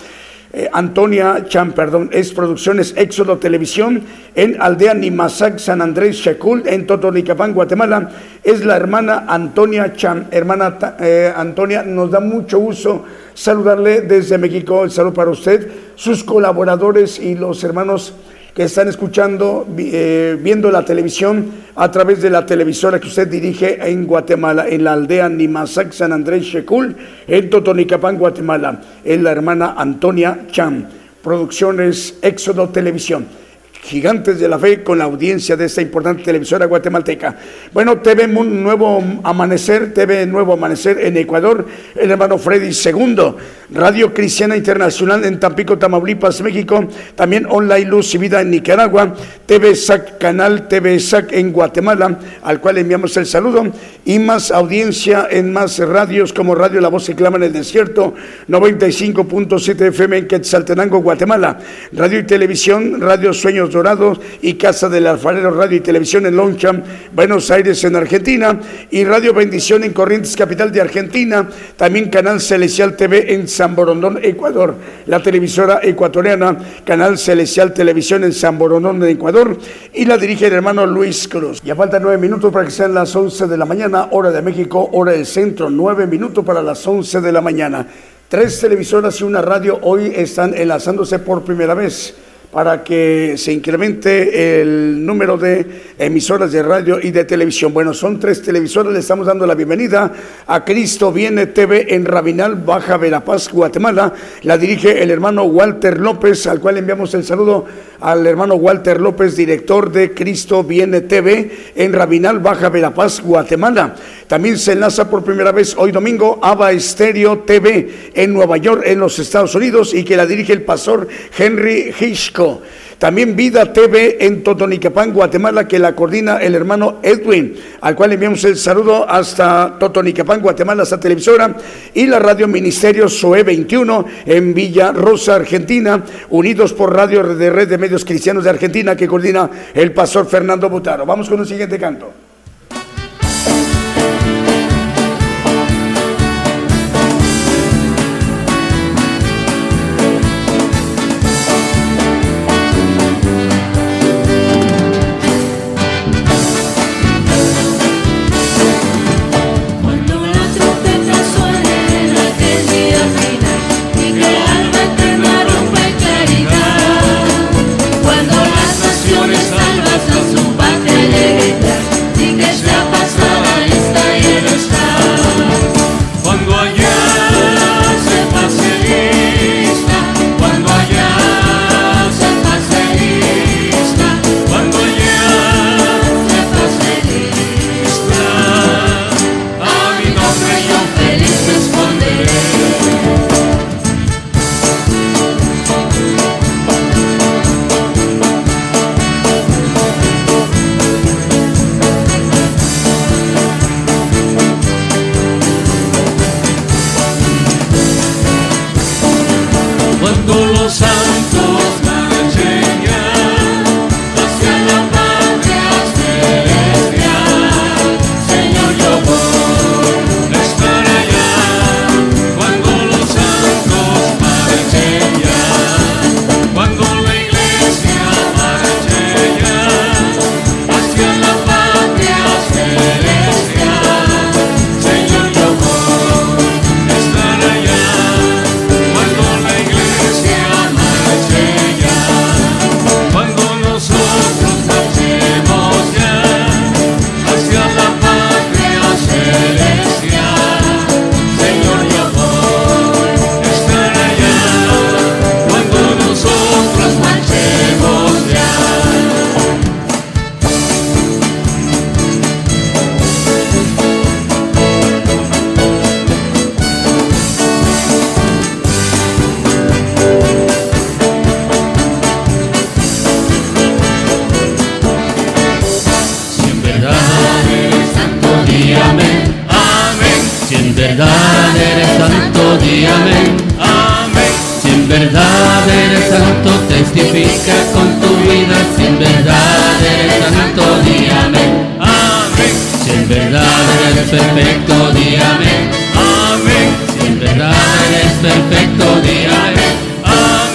Eh, Antonia Chan, perdón, es Producciones Éxodo Televisión en Aldea Nimazac, San Andrés Chacul, en Totonicapán, Guatemala. Es la hermana Antonia Chan. Hermana eh, Antonia, nos da mucho gusto saludarle desde México. El saludo para usted, sus colaboradores y los hermanos que están escuchando, eh, viendo la televisión a través de la televisora que usted dirige en Guatemala, en la aldea Nimazac, San Andrés Checul, en Totonicapán, Guatemala. Es la hermana Antonia Chan, Producciones Éxodo Televisión. Gigantes de la Fe con la audiencia de esta importante televisora guatemalteca. Bueno, T V Nuevo Amanecer, T V Nuevo Amanecer en Ecuador, el hermano Freddy segundo, Radio Cristiana Internacional en Tampico, Tamaulipas, México, también Online Luz y Vida en Nicaragua, T V S A C, canal T V S A C en Guatemala, al cual enviamos el saludo, y más audiencia en más radios como Radio La Voz que clama en el desierto, noventa y cinco punto siete F M en Quetzaltenango, Guatemala, Radio y Televisión, Radio Sueños Dorados y Casa del Alfarero, Radio y Televisión en Loncham, Buenos Aires en Argentina, y Radio Bendición en Corrientes, capital de Argentina, también Canal Celestial T V en San Borondón, Ecuador, la televisora ecuatoriana Canal Celestial Televisión en San Borondón, Ecuador, y la dirige el hermano Luis Cruz. Ya faltan nueve minutos para que sean las once de la mañana, hora de México, hora del centro, nueve minutos para las once de la mañana. Tres televisoras y una radio hoy están enlazándose por primera vez para que se incremente el número de emisoras de radio y de televisión. Bueno, son tres televisoras. Le estamos dando la bienvenida a Cristo Viene T V en Rabinal, Baja Verapaz, Guatemala. La dirige el hermano Walter López, al cual enviamos el saludo al hermano Walter López, director de Cristo Viene T V en Rabinal, Baja Verapaz, Guatemala. También se enlaza por primera vez hoy domingo Aba Estéreo T V en Nueva York, en los Estados Unidos, y que la dirige el pastor Henry Hitchcock. También Vida T V en Totonicapán, Guatemala, que la coordina el hermano Edwin, al cual enviamos el saludo hasta Totonicapán, Guatemala, esta televisora, y la Radio Ministerio Zoe veintiuno en Villa Rosa, Argentina, unidos por Radio de Red de Medios Cristianos de Argentina, que coordina el pastor Fernando Butaro. Vamos con un siguiente canto. Salvas a su patria alegría, y que sea pasada esta y el verdad eres santo, di amén. Amén. Si en verdad eres santo, testifica con tu vida. Si en verdad eres santo, di amén. Amén. Si en verdad eres perfecto, di amén. Amén. Si en verdad eres perfecto, di amén. Amén.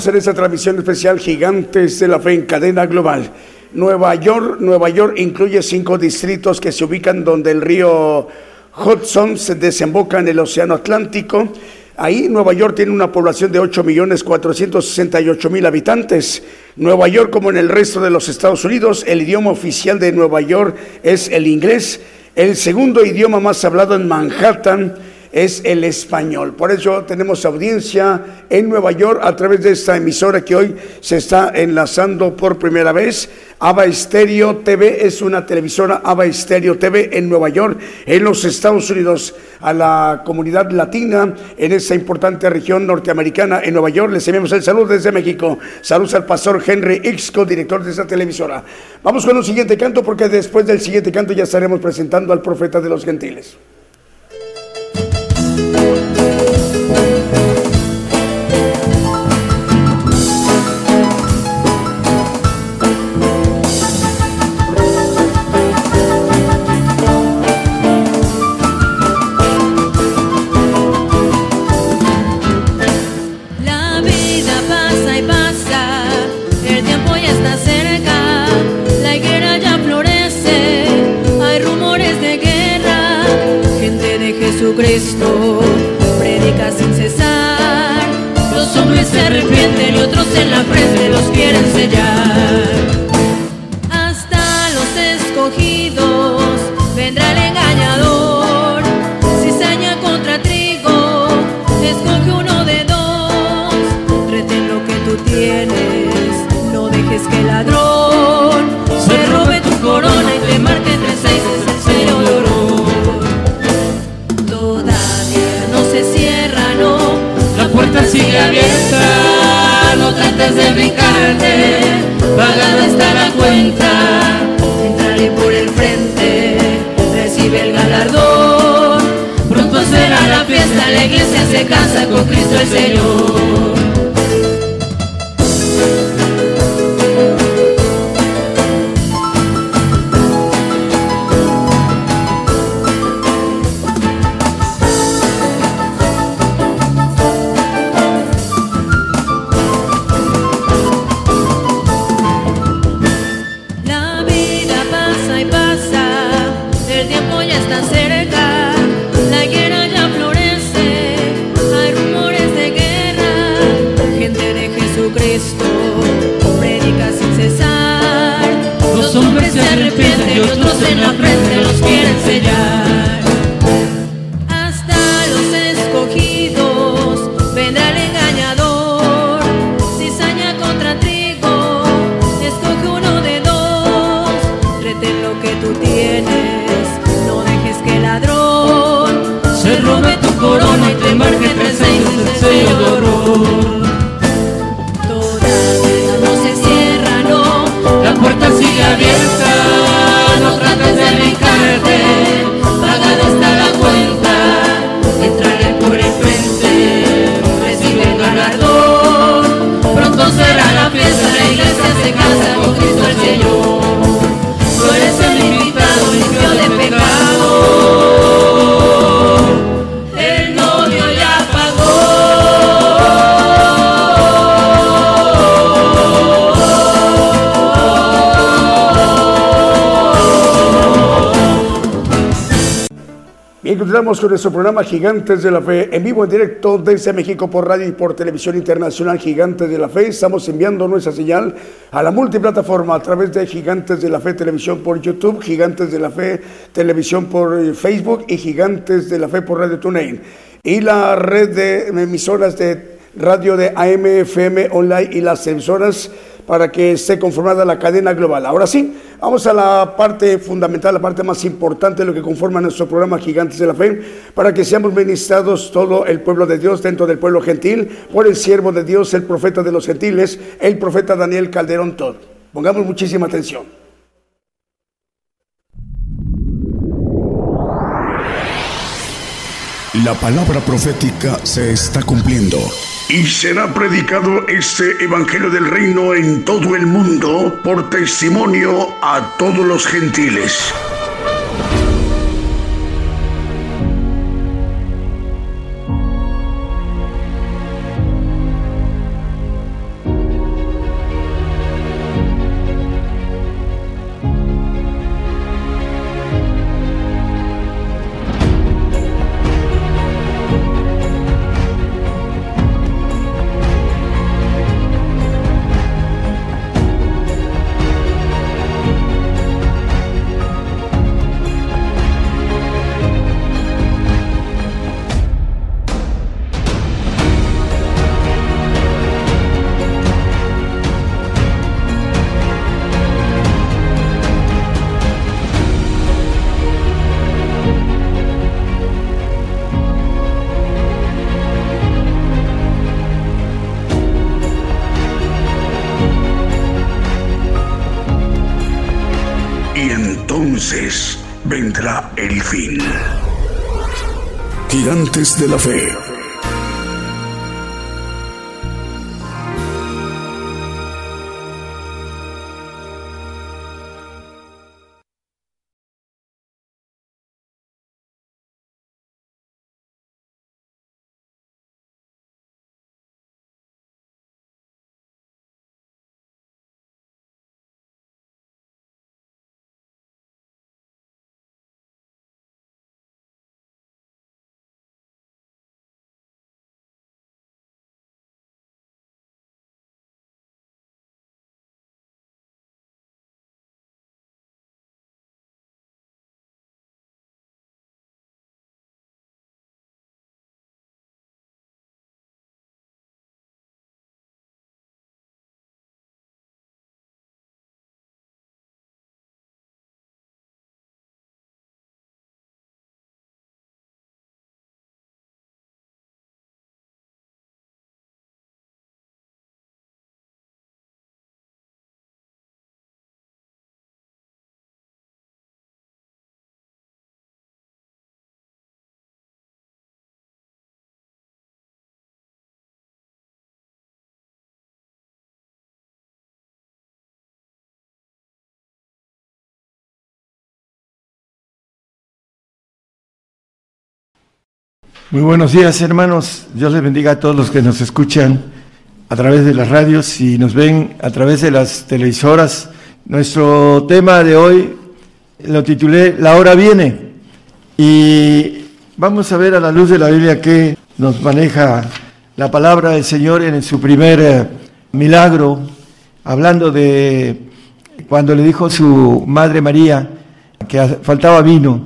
Estamos en esta transmisión especial Gigantes de la Fe en cadena global. Nueva York, Nueva York incluye cinco distritos que se ubican donde el río Hudson se desemboca en el Océano Atlántico. Ahí Nueva York tiene una población de ocho millones cuatrocientos sesenta y ocho mil habitantes. Nueva York, como en el resto de los Estados Unidos, el idioma oficial de Nueva York es el inglés. El segundo idioma más hablado en Manhattan es el español. Por eso tenemos audiencia en Nueva York a través de esta emisora que hoy se está enlazando por primera vez. Ava Estéreo T V es una televisora Ava Estéreo T V en Nueva York, en los Estados Unidos. A la comunidad latina en esa importante región norteamericana en Nueva York les enviamos el saludo desde México. Saludos al pastor Henry Ixco, director de esta televisora. Vamos con un siguiente canto, porque después del siguiente canto ya estaremos presentando al profeta de los gentiles. Jesucristo predica sin cesar. Los hombres se arrepienten y otros en la frente los quieren sellar. Hasta los escogidos vendrá el engañador. Cizaña contra trigo, escoge uno de dos. Retén lo que tú tienes, no dejes que el ladrón se robe tu corona y te marque entre seis. Es el sello de oro. La puerta sigue abierta, no trates de brincarte, pagada está la cuenta. Entraré por el frente, recibe el galardón. Pronto será la fiesta, la iglesia se casa con Cristo el Señor. Y otros en la frente los quieren sellar. Hasta los escogidos vendrá el engañador. Cizaña contra trigo, escoge uno de dos. Retén lo que tú tienes, no dejes que el ladrón se robe tu corona y te marque entre seis. El sello de oro. Todavía no se cierra, no, la puerta sigue abierta. No trates de brincarte, pagada está la cuenta. Entraré por el frente, recibe el galardón. Pronto será la fiesta, la iglesia se casa con Cristo el Señor. Tú eres el invitado, limpio de pecado. El novio ya pagó. Bien, continuamos con nuestro programa Gigantes de la Fe, en vivo, en directo desde México por radio y por televisión internacional Gigantes de la Fe. Estamos enviando nuestra señal a la multiplataforma a través de Gigantes de la Fe Televisión por YouTube, Gigantes de la Fe Televisión por Facebook y Gigantes de la Fe por Radio TuneIn. Y la red de emisoras de radio de A M, F M, online y las emisoras para que esté conformada la cadena global. Ahora sí, vamos a la parte fundamental, la parte más importante de lo que conforma nuestro programa Gigantes de la Fe, para que seamos ministrados todo el pueblo de Dios dentro del pueblo gentil, por el siervo de Dios, el profeta de los gentiles, el profeta Daniel Calderón Todd. Pongamos muchísima atención. La palabra profética se está cumpliendo. Y será predicado este evangelio del reino en todo el mundo por testimonio a todos los gentiles. entonces vendrá el fin. Gigantes de la Fe. Muy buenos días, hermanos. Dios les bendiga a todos los que nos escuchan a través de las radios y nos ven a través de las televisoras. Nuestro tema de hoy lo titulé La hora viene, y vamos a ver a la luz de la Biblia qué nos maneja la palabra del Señor en su primer eh, milagro, hablando de cuando le dijo su madre María que faltaba vino.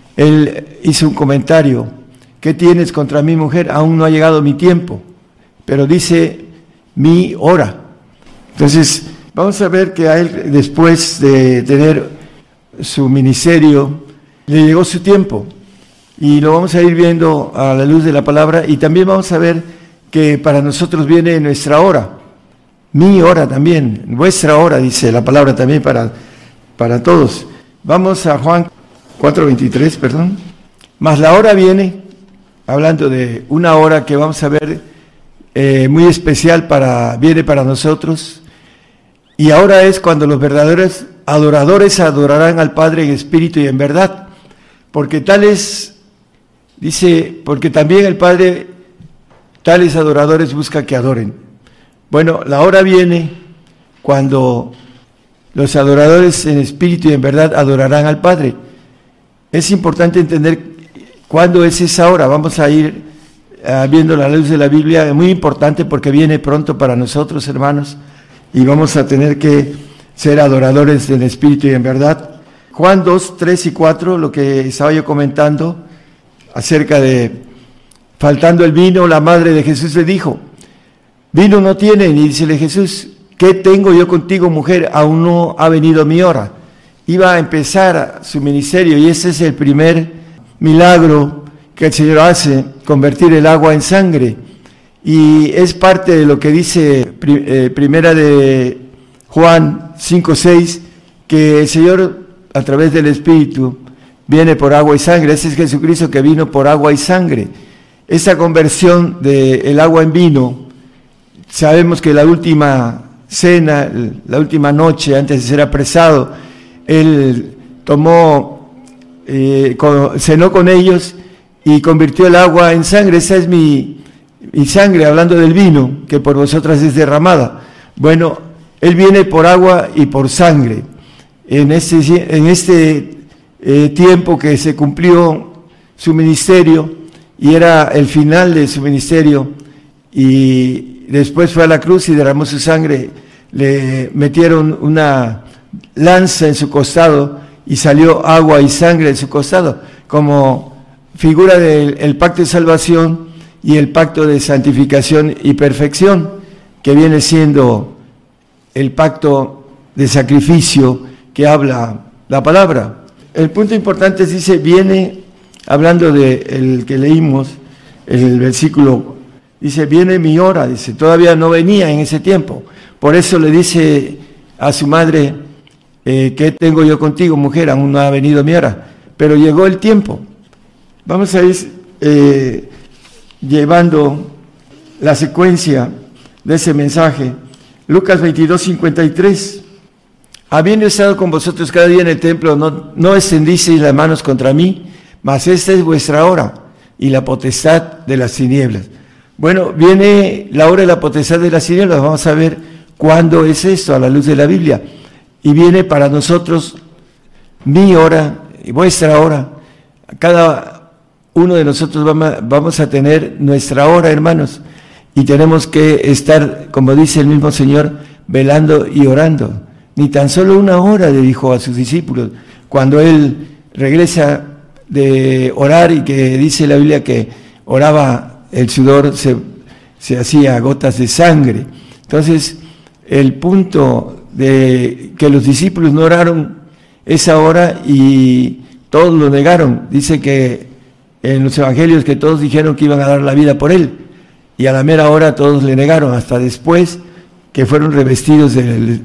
Él hizo un comentario: ¿qué tienes contra mi mujer? Aún no ha llegado mi tiempo, pero dice mi hora. Entonces, vamos a ver que a él, después de tener su ministerio, le llegó su tiempo, y lo vamos a ir viendo a la luz de la palabra, y también vamos a ver que para nosotros viene nuestra hora, mi hora también, vuestra hora, dice la palabra también para, para todos. Vamos a Juan cuatro veintitrés, perdón. Mas la hora viene, hablando de una hora que vamos a ver eh, muy especial, para viene para nosotros, y ahora es cuando los verdaderos adoradores adorarán al Padre en espíritu y en verdad, porque tales, dice, porque también el Padre tales adoradores busca que adoren. Bueno, la hora viene cuando los adoradores en espíritu y en verdad adorarán al Padre. Es importante entender ¿cuándo es esa hora? Vamos a ir uh, viendo la luz de la Biblia, es muy importante porque viene pronto para nosotros, hermanos, y vamos a tener que ser adoradores en espíritu y en verdad. Juan dos, tres y cuatro, lo que estaba yo comentando acerca de faltando el vino, la madre de Jesús le dijo: vino no tienen, y dícele Jesús: ¿qué tengo yo contigo, mujer? Aún no ha venido mi hora. Iba a empezar su ministerio, y ese es el primer milagro que el Señor hace, convertir el agua en sangre, y es parte de lo que dice eh, primera de Juan cinco seis, que el Señor a través del Espíritu viene por agua y sangre. Ese es Jesucristo que vino por agua y sangre. Esa conversión del agua en vino, sabemos que la última cena, la última noche antes de ser apresado, Él tomó Eh, con, cenó con ellos y convirtió el agua en sangre. Esa es mi, mi sangre, hablando del vino, que por vosotras es derramada. Bueno, Él viene por agua y por sangre. En este, en este eh, tiempo que se cumplió su ministerio, y era el final de su ministerio, y después fue a la cruz y derramó su sangre, le metieron una lanza en su costado, y salió agua y sangre de su costado, como figura del el pacto de salvación y el pacto de santificación y perfección, que viene siendo el pacto de sacrificio que habla la palabra. El punto importante es, dice, viene, hablando de el que leímos, el versículo, dice, viene mi hora, dice, todavía no venía en ese tiempo. Por eso le dice a su madre: eh, ¿qué tengo yo contigo, mujer? Aún no ha venido mi hora, pero llegó el tiempo. Vamos a ir eh, llevando la secuencia de ese mensaje. Lucas veintidós, cincuenta y tres. Habiendo estado con vosotros cada día en el templo, no, no extendisteis las manos contra mí, mas esta es vuestra hora y la potestad de las tinieblas. Bueno, viene la hora de la potestad de las tinieblas. Vamos a ver cuándo es esto a la luz de la Biblia. Y viene para nosotros mi hora y vuestra hora. Cada uno de nosotros vamos a tener nuestra hora, hermanos. Y tenemos que estar, como dice el mismo Señor, velando y orando. Ni tan solo una hora, le dijo a sus discípulos, cuando Él regresa de orar y que dice la Biblia que oraba, el sudor se, se hacía gotas de sangre. Entonces, el punto de que los discípulos no oraron esa hora y todos lo negaron. Dice que en los evangelios que todos dijeron que iban a dar la vida por Él. Y a la mera hora todos le negaron, hasta después que fueron revestidos de,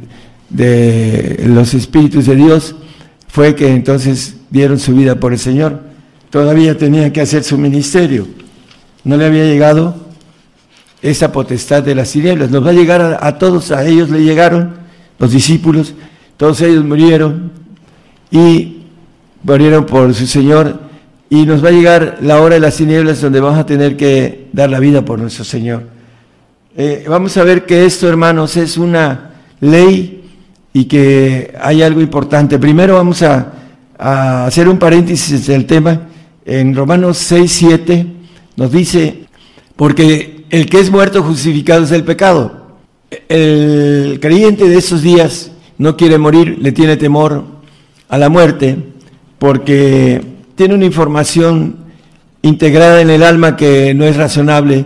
de los Espíritus de Dios, fue que entonces dieron su vida por el Señor. Todavía tenían que hacer su ministerio. No le había llegado esa potestad de las tinieblas. Nos va a llegar a, a todos, a ellos le llegaron, los discípulos, todos ellos murieron y murieron por su Señor. Y nos va a llegar la hora de las tinieblas donde vamos a tener que dar la vida por nuestro Señor. Eh, vamos a ver que esto, hermanos, es una ley y que hay algo importante. Primero vamos a, a hacer un paréntesis del tema. En Romanos seis, siete nos dice, porque el que es muerto justificado es el pecado. El creyente de esos días no quiere morir, le tiene temor a la muerte, porque tiene una información integrada en el alma que no es razonable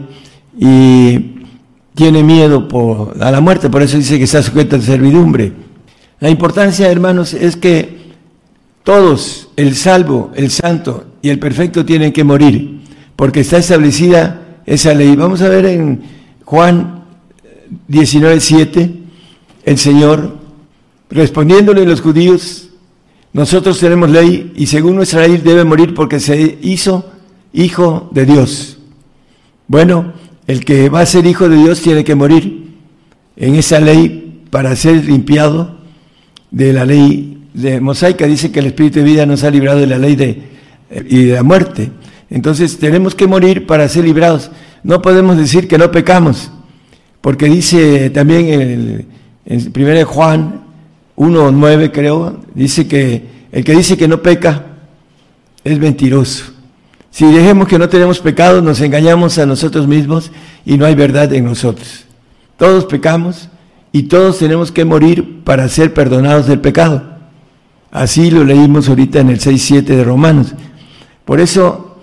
y tiene miedo por, a la muerte, por eso dice que está sujeto a servidumbre. La importancia, hermanos, es que todos, el salvo, el santo y el perfecto, tienen que morir, porque está establecida esa ley. Vamos a ver en Juan diecinueve, siete, el Señor, respondiéndole a los judíos, nosotros tenemos ley y según nuestra ley debe morir porque se hizo hijo de Dios. Bueno, el que va a ser hijo de Dios tiene que morir en esa ley para ser limpiado de la ley de mosaica. Dice que el Espíritu de vida nos ha librado de la ley de, y de la muerte. Entonces tenemos que morir para ser librados. No podemos decir que no pecamos, porque dice también en, en primera de Juan uno, nueve, creo, dice que el que dice que no peca es mentiroso. Si dejemos que no tenemos pecado, nos engañamos a nosotros mismos y no hay verdad en nosotros. Todos pecamos y todos tenemos que morir para ser perdonados del pecado. Así lo leímos ahorita en el seis, siete de Romanos. Por eso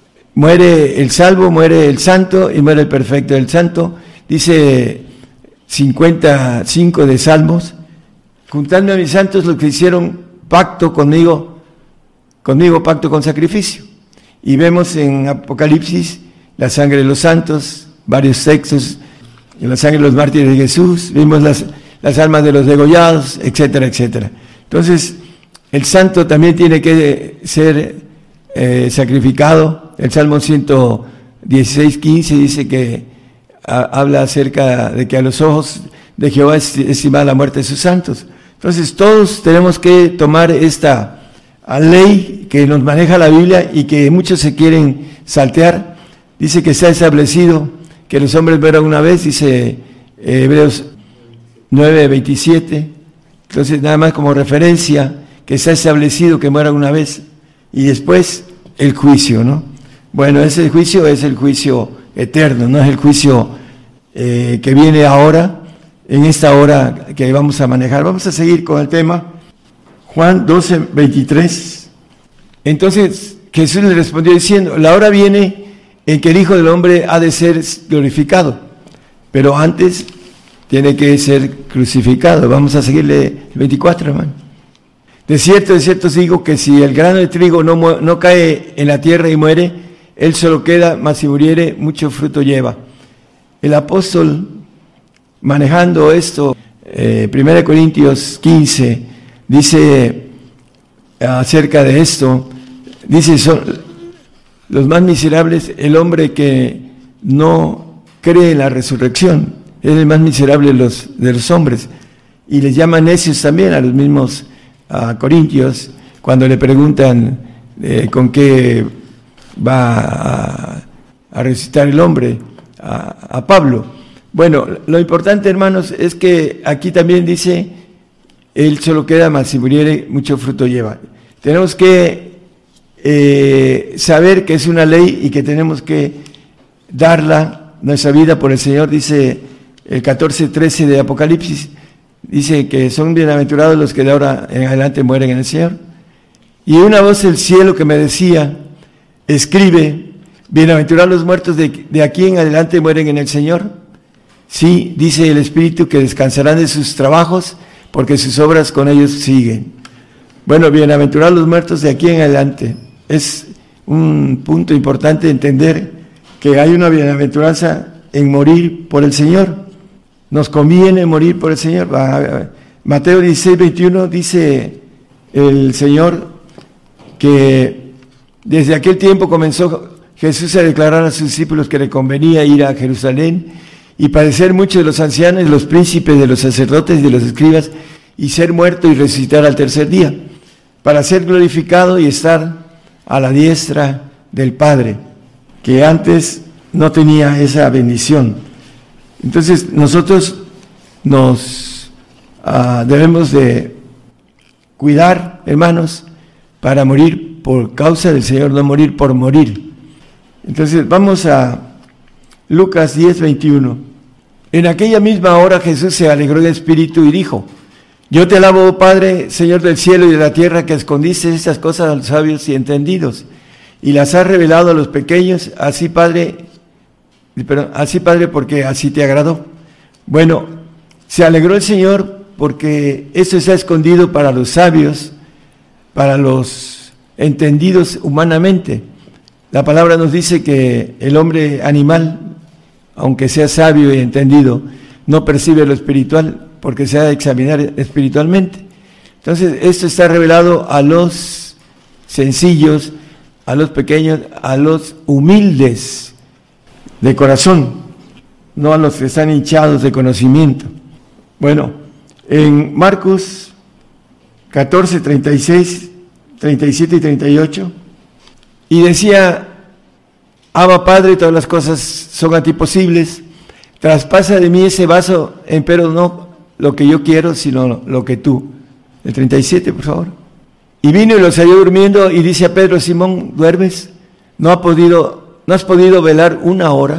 muere el salvo, muere el santo y muere el perfecto. El santo, dice cincuenta y cinco de Salmos, juntadme a mis santos los que hicieron pacto conmigo, conmigo pacto con sacrificio. Y vemos en Apocalipsis la sangre de los santos, varios textos, la sangre de los mártires de Jesús, vimos las, las almas de los degollados, etcétera, etcétera. Entonces, el santo también tiene que ser eh, sacrificado. El Salmo ciento dieciséis, quince dice que a, habla acerca de que a los ojos de Jehová es estimada la muerte de sus santos. Entonces todos tenemos que tomar esta ley que nos maneja la Biblia y que muchos se quieren saltear. Dice que está establecido que los hombres mueran una vez, dice eh, Hebreos nueve, veintisiete. Entonces nada más como referencia, que está establecido que mueran una vez y después el juicio, ¿no? Bueno, ese juicio es el juicio eterno, no es el juicio eh, que viene ahora, en esta hora que vamos a manejar. Vamos a seguir con el tema. Juan doce, veintitrés. Entonces Jesús le respondió diciendo, la hora viene en que el Hijo del Hombre ha de ser glorificado, pero antes tiene que ser crucificado. Vamos a seguirle el veinticuatro, hermano. De cierto, de cierto os digo que si el grano de trigo no, no cae en la tierra y muere, él solo queda, mas si muriere, mucho fruto lleva. El apóstol, manejando esto, eh, primera Corintios quince, dice acerca de esto, dice, son los más miserables, el hombre que no cree en la resurrección, es el más miserable de los, de los hombres, y les llaman necios también a los mismos a corintios, cuando le preguntan eh, con qué va a, a resucitar el hombre, a, a Pablo. Bueno, lo importante, hermanos, es que aquí también dice, él solo queda, mas si muriere, mucho fruto lleva. Tenemos que eh, saber que es una ley y que tenemos que darla, nuestra vida por el Señor. Dice el catorce trece de Apocalipsis, dice que son bienaventurados los que de ahora en adelante mueren en el Señor. Y una voz del cielo que me decía, escribe, bienaventurados los muertos de, de aquí en adelante mueren en el Señor. Sí, dice el Espíritu, que descansarán de sus trabajos, porque sus obras con ellos siguen. Bueno, bienaventurados los muertos de aquí en adelante. Es un punto importante entender que hay una bienaventuranza en morir por el Señor. Nos conviene morir por el Señor. Mateo dieciséis, veintiuno dice el Señor que desde aquel tiempo comenzó Jesús a declarar a sus discípulos que le convenía ir a Jerusalén y padecer mucho de los ancianos, de los príncipes, de los sacerdotes y de los escribas, y ser muerto y resucitar al tercer día, para ser glorificado y estar a la diestra del Padre, que antes no tenía esa bendición. Entonces nosotros nos uh, debemos de cuidar, hermanos, para morir por causa del Señor, no morir por morir. Entonces vamos a Lucas diez, veintiuno. En aquella misma hora Jesús se alegró en espíritu y dijo, yo te alabo, oh Padre, Señor del cielo y de la tierra, que escondiste estas cosas a los sabios y entendidos, y las has revelado a los pequeños, así Padre, perdón, así Padre, porque así te agradó. Bueno, se alegró el Señor porque esto está escondido para los sabios, para los entendidos humanamente. La palabra nos dice que el hombre animal, aunque sea sabio y entendido, no percibe lo espiritual porque se ha de examinar espiritualmente. Entonces, esto está revelado a los sencillos, a los pequeños, a los humildes de corazón, no a los que están hinchados de conocimiento. Bueno, en Marcos catorce, treinta y seis, treinta y siete y treinta y ocho, y decía, Abba Padre, todas las cosas son a ti posibles, traspasa de mí ese vaso, empero no lo que yo quiero, sino lo que tú. El treinta y siete, por favor. Y vino y los halló durmiendo, y dice a Pedro, Simón, ¿duermes? ¿No ha podido, no has podido velar una hora?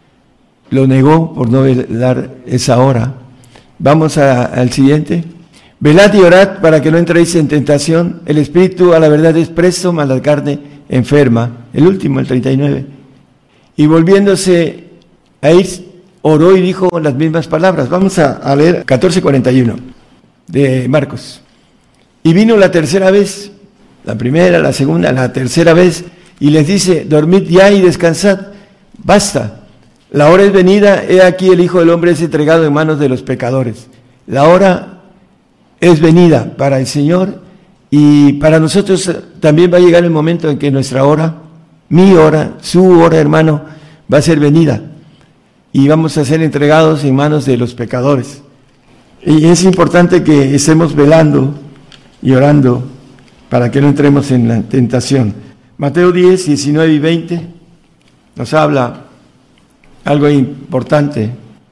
Lo negó por no velar esa hora. Vamos a, al siguiente. Velad y orad para que no entréis en tentación. El espíritu a la verdad es presto, mas la carne enferma. El último, el treinta y nueve. Y volviéndose a ir, oró y dijo las mismas palabras. Vamos a, a leer catorce cuarenta y uno de Marcos. Y vino la tercera vez, la primera, la segunda, la tercera vez, y les dice, dormid ya y descansad, basta. La hora es venida, he aquí el Hijo del Hombre es entregado en manos de los pecadores. La hora es venida para el Señor, y para nosotros también va a llegar el momento en que nuestra hora, mi hora, su hora, hermano, va a ser venida, y vamos a ser entregados en manos de los pecadores. Y es importante que estemos velando y orando para que no entremos en la tentación. Mateo diez, diecinueve y veinte nos habla algo importante.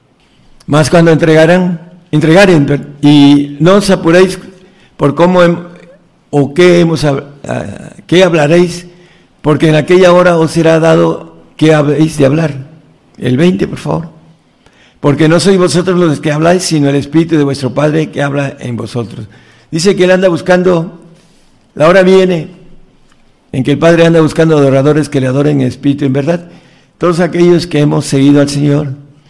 Más cuando entregarán, entregaren, y no os apuréis por cómo hem, o qué hemos uh, qué hablaréis, porque en aquella hora os será dado qué habéis de hablar. El veinte, por favor. Porque no sois vosotros los que habláis, sino el Espíritu de vuestro Padre que habla en vosotros. Dice que Él anda buscando, la hora viene en que el Padre anda buscando adoradores que le adoren en espíritu y en verdad. Todos aquellos que hemos seguido al Señor,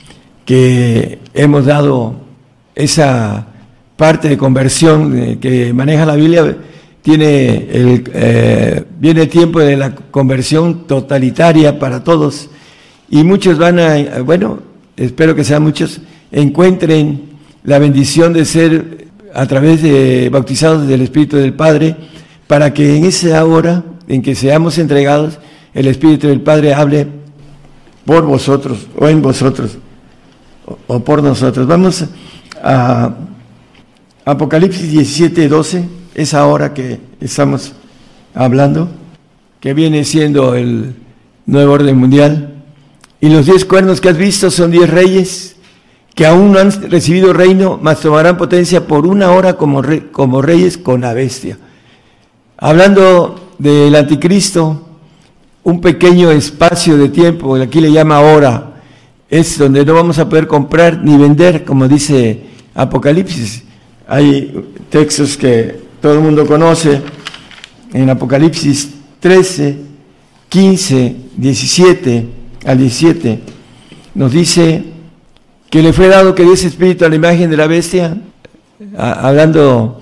que hemos dado esa parte de conversión eh, que maneja la Biblia, tiene el, eh, viene el tiempo de la conversión totalitaria para todos, y muchos van a, bueno, espero que sean muchos, encuentren la bendición de ser a través de bautizados del Espíritu del Padre, para que en esa hora en que seamos entregados, el Espíritu del Padre hable por vosotros, o en vosotros, o, o por nosotros. Vamos a Apocalipsis diecisiete, doce, esa hora que estamos hablando, que viene siendo el nuevo orden mundial. Y los diez cuernos que has visto son diez reyes que aún no han recibido reino, mas tomarán potencia por una hora como, re, como reyes con la bestia. Hablando del anticristo, un pequeño espacio de tiempo, aquí le llama hora, es donde no vamos a poder comprar ni vender, como dice Apocalipsis. Hay textos que todo el mundo conoce, en Apocalipsis trece, quince, diecisiete al diecisiete, nos dice que le fue dado que diese espíritu a la imagen de la bestia, a, hablando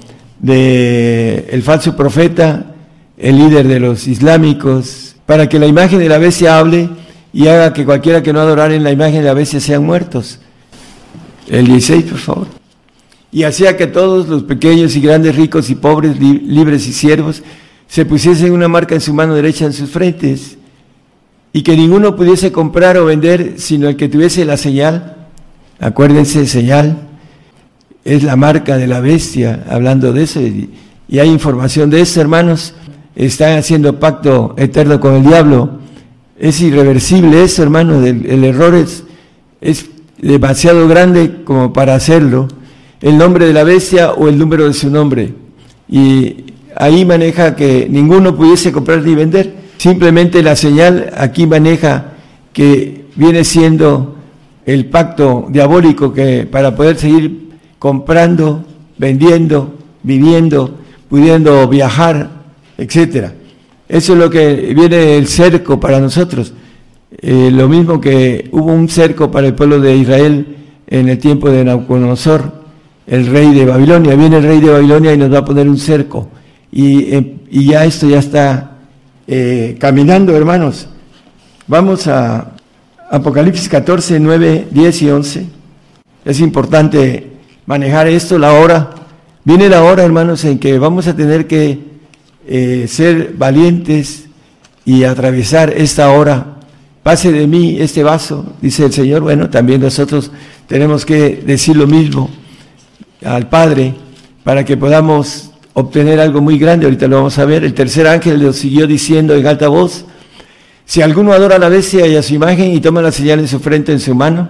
de el falso profeta, el líder de los islámicos, para que la imagen de la bestia hable y haga que cualquiera que no adorara en la imagen de la bestia sean muertos. El dieciséis, por favor. Y hacía que todos los pequeños y grandes, ricos y pobres, li libres y siervos, se pusiesen una marca en su mano derecha en sus frentes, y que ninguno pudiese comprar o vender, sino el que tuviese la señal. Acuérdense, señal es la marca de la bestia, hablando de eso, y, y hay información de eso, hermanos. Están haciendo pacto eterno con el diablo. Es irreversible eso, hermanos. El, el error es, es demasiado grande como para hacerlo. El nombre de la bestia o el número de su nombre. Y ahí maneja que ninguno pudiese comprar ni vender. Simplemente la señal aquí maneja que viene siendo el pacto diabólico, que para poder seguir comprando, vendiendo, viviendo, pudiendo viajar, etcétera. Eso es lo que viene el cerco para nosotros. Eh, lo mismo que hubo un cerco para el pueblo de Israel en el tiempo de Nabucodonosor, el rey de Babilonia. Viene el rey de Babilonia y nos va a poner un cerco. Y, eh, y ya esto ya está eh, caminando, hermanos. Vamos a Apocalipsis catorce, nueve, diez y once. Es importante manejar esto, la hora. Viene la hora, hermanos, en que vamos a tener que eh, ser valientes y atravesar esta hora. Pase de mí este vaso, dice el Señor. Bueno, también nosotros tenemos que decir lo mismo al Padre para que podamos obtener algo muy grande. Ahorita lo vamos a ver. El tercer ángel lo siguió diciendo en alta voz: si alguno adora a la bestia y a su imagen y toma la señal en su frente, en su mano,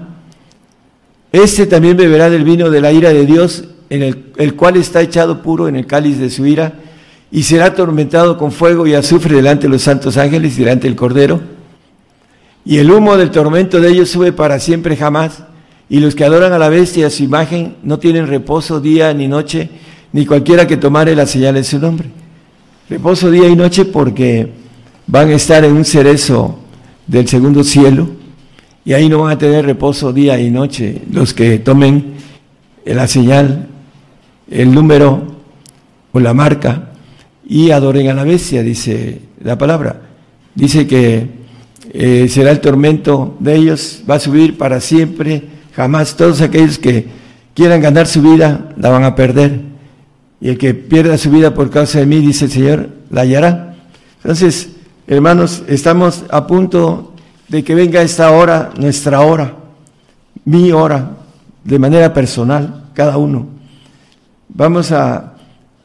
este también beberá del vino de la ira de Dios, en el, el cual está echado puro en el cáliz de su ira, y será atormentado con fuego y azufre delante de los santos ángeles y delante del Cordero. Y el humo del tormento de ellos sube para siempre jamás, y los que adoran a la bestia y a su imagen no tienen reposo día ni noche, ni cualquiera que tomare la señal en su nombre. Reposo día y noche porque van a estar en un cerezo del segundo cielo, y ahí no van a tener reposo día y noche los que tomen la señal, el número o la marca y adoren a la bestia, dice la palabra. Dice que eh, será el tormento de ellos, va a subir para siempre, jamás. Todos aquellos que quieran ganar su vida la van a perder, y el que pierda su vida por causa de mí, dice el Señor, la hallará. Entonces, hermanos, estamos a punto de que venga esta hora, nuestra hora, mi hora, de manera personal, cada uno. Vamos a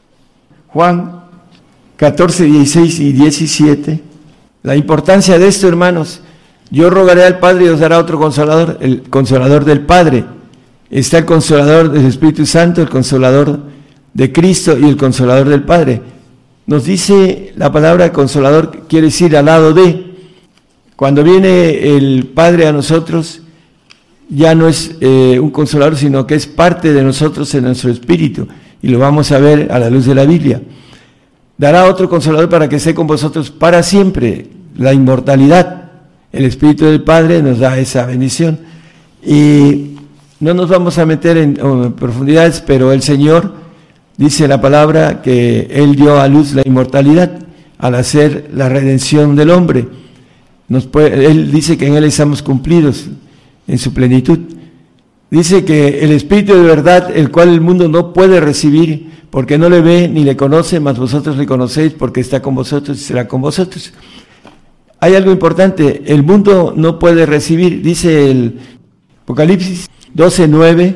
Juan catorce, dieciséis y diecisiete. La importancia de esto, hermanos: yo rogaré al Padre y os dará otro consolador, el consolador del Padre. Está el consolador del Espíritu Santo, el consolador de Cristo y el consolador del Padre. Nos dice la palabra consolador, quiere decir al lado de. Cuando viene el Padre a nosotros, ya no es eh, un consolador, sino que es parte de nosotros en nuestro espíritu, y lo vamos a ver a la luz de la Biblia. Dará otro consolador para que esté con vosotros para siempre, la inmortalidad. El Espíritu del Padre nos da esa bendición. Y no nos vamos a meter en, en profundidades, pero el Señor dice la palabra que Él dio a luz la inmortalidad al hacer la redención del hombre. Nos puede, Él dice que en Él estamos cumplidos en su plenitud. Dice que el Espíritu de verdad, el cual el mundo no puede recibir, porque no le ve ni le conoce, mas vosotros le conocéis porque está con vosotros y será con vosotros. Hay algo importante, el mundo no puede recibir, dice el Apocalipsis doce nueve,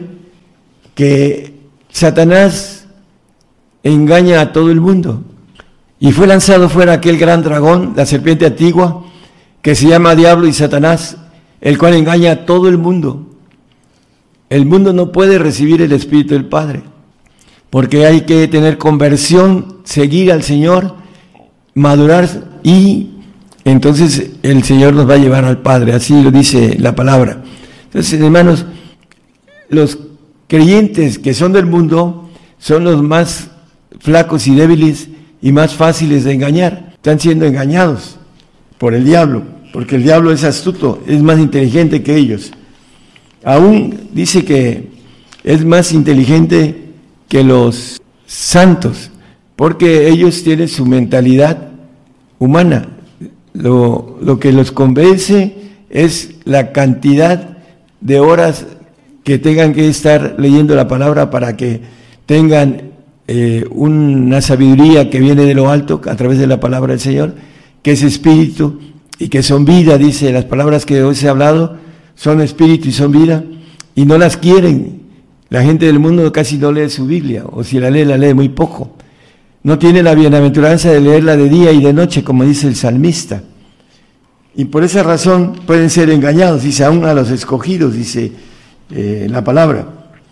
que Satanás engaña a todo el mundo. Y fue lanzado fuera aquel gran dragón, la serpiente antigua, que se llama Diablo y Satanás, el cual engaña a todo el mundo. El mundo no puede recibir el Espíritu del Padre, porque hay que tener conversión, seguir al Señor, madurar, y entonces el Señor nos va a llevar al Padre, así lo dice la palabra. Entonces, hermanos, los creyentes que son del mundo son los más flacos y débiles y más fáciles de engañar. Están siendo engañados por el diablo, porque el diablo es astuto, es más inteligente que ellos. Aún dice que es más inteligente que los santos, porque ellos tienen su mentalidad humana. Lo, lo que los convence es la cantidad de horas que tengan que estar leyendo la palabra para que tengan eh, una sabiduría que viene de lo alto a través de la palabra del Señor, que es espíritu y que son vida. Dice, las palabras que hoy se ha hablado son espíritu y son vida, y no las quieren. La gente del mundo casi no lee su Biblia, o si la lee, la lee muy poco. No tiene la bienaventuranza de leerla de día y de noche, como dice el salmista. Y por esa razón pueden ser engañados, dice, aún a los escogidos, dice eh, la palabra.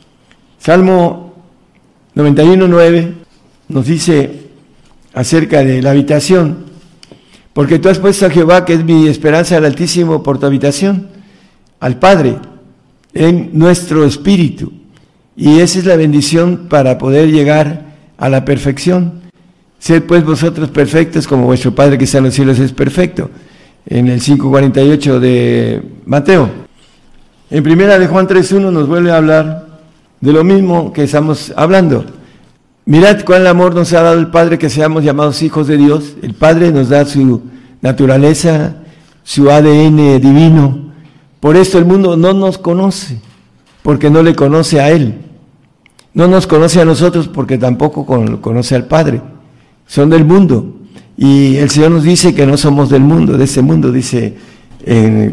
Salmo noventa y uno nueve nos dice acerca de la habitación: porque tú has puesto a Jehová, que es mi esperanza, al Altísimo, por tu habitación, al Padre, en nuestro espíritu. Y esa es la bendición para poder llegar a la perfección. Sed pues vosotros perfectos, como vuestro Padre que está en los cielos es perfecto. En el cinco cuarenta y ocho de Mateo. En primera de Juan tres uno nos vuelve a hablar de lo mismo que estamos hablando. Mirad cuál amor nos ha dado el Padre, que seamos llamados hijos de Dios. El Padre nos da su naturaleza, su A D N divino. Por esto el mundo no nos conoce, porque no le conoce a Él. No nos conoce a nosotros, porque tampoco conoce al Padre. Son del mundo. Y el Señor nos dice que no somos del mundo, de ese mundo, dice en,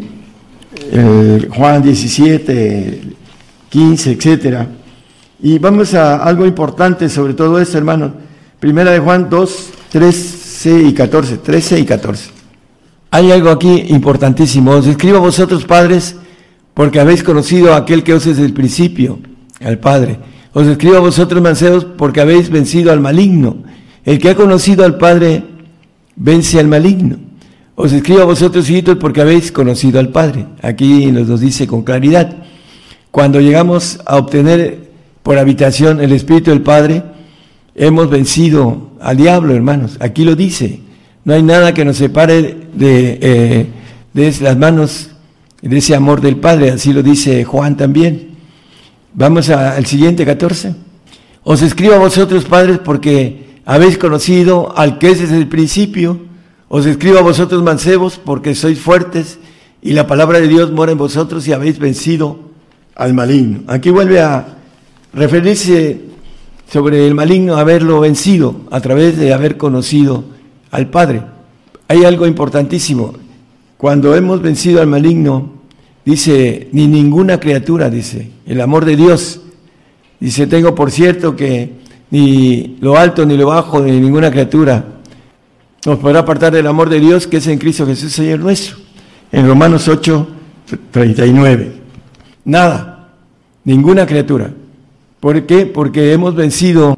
en Juan diecisiete, quince, etcétera. Y vamos a algo importante sobre todo esto, hermanos. Primera de Juan dos, trece y catorce. trece y catorce. Hay algo aquí importantísimo. Os escribo a vosotros, padres, porque habéis conocido a aquel que os es desde el principio, al Padre. Os escribo a vosotros, mancebos, porque habéis vencido al maligno. El que ha conocido al Padre vence al maligno. Os escribo a vosotros, hijitos, porque habéis conocido al Padre. Aquí nos lo dice con claridad. Cuando llegamos a obtener por habitación el Espíritu del Padre, hemos vencido al diablo, hermanos. Aquí lo dice. No hay nada que nos separe de, eh, de las manos de ese amor del Padre. Así lo dice Juan también. Vamos a, al siguiente, catorce. Os escribo a vosotros, padres, porque habéis conocido al que es desde el principio. Os escribo a vosotros, mancebos, porque sois fuertes y la palabra de Dios mora en vosotros y habéis vencido al maligno. Aquí vuelve a referirse sobre el maligno, haberlo vencido a través de haber conocido al Padre. Hay algo importantísimo. Cuando hemos vencido al maligno, dice, ni ninguna criatura, dice, el amor de Dios. Dice, tengo por cierto que ni lo alto, ni lo bajo, ni ninguna criatura nos podrá apartar del amor de Dios que es en Cristo Jesús, Señor nuestro. En Romanos ocho, treinta y nueve. Nada, ninguna criatura. ¿Por qué? Porque hemos vencido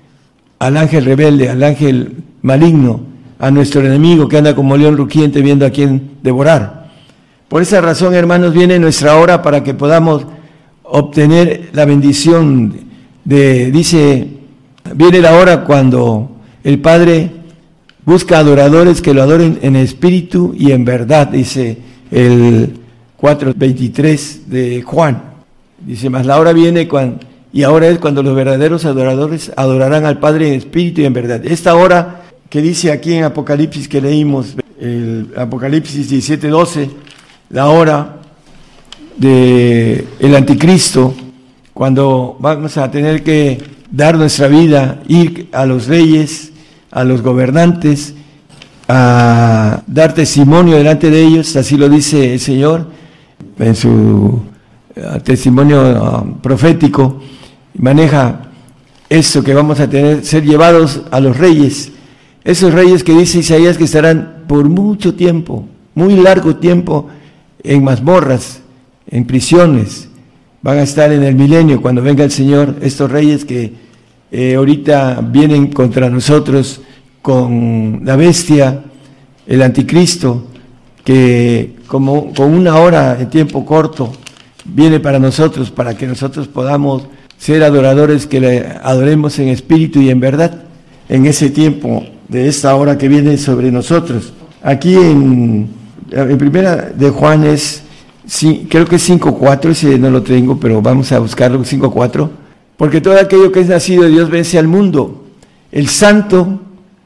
al ángel rebelde, al ángel maligno, a nuestro enemigo que anda como león rugiente viendo a quién devorar. Por esa razón, hermanos, viene nuestra hora para que podamos obtener la bendición de, dice, viene la hora cuando el Padre busca adoradores que lo adoren en espíritu y en verdad, dice el cuatro veintitrés de Juan. Dice, mas la hora viene cuando, y ahora es cuando los verdaderos adoradores adorarán al Padre en espíritu y en verdad. Esta hora que dice aquí en Apocalipsis que leímos, el Apocalipsis diecisiete doce, la hora de el anticristo, cuando vamos a tener que dar nuestra vida, ir a los reyes, a los gobernantes, a dar testimonio delante de ellos, así lo dice el Señor en su uh, testimonio uh, profético, maneja eso que vamos a tener, ser llevados a los reyes, esos reyes que dice Isaías que estarán por mucho tiempo, muy largo tiempo, en mazmorras, en prisiones, van a estar en el milenio cuando venga el Señor, estos reyes que eh, ahorita vienen contra nosotros con la bestia, el anticristo, que como con una hora en tiempo corto viene para nosotros, para que nosotros podamos ser adoradores, que le adoremos en espíritu y en verdad, en ese tiempo de esta hora que viene sobre nosotros. Aquí en, en primera de Juan es, sí, creo que es cinco cuatro, ese no lo tengo, pero vamos a buscarlo, cinco cuatro, porque todo aquello que es nacido de Dios vence al mundo. El santo,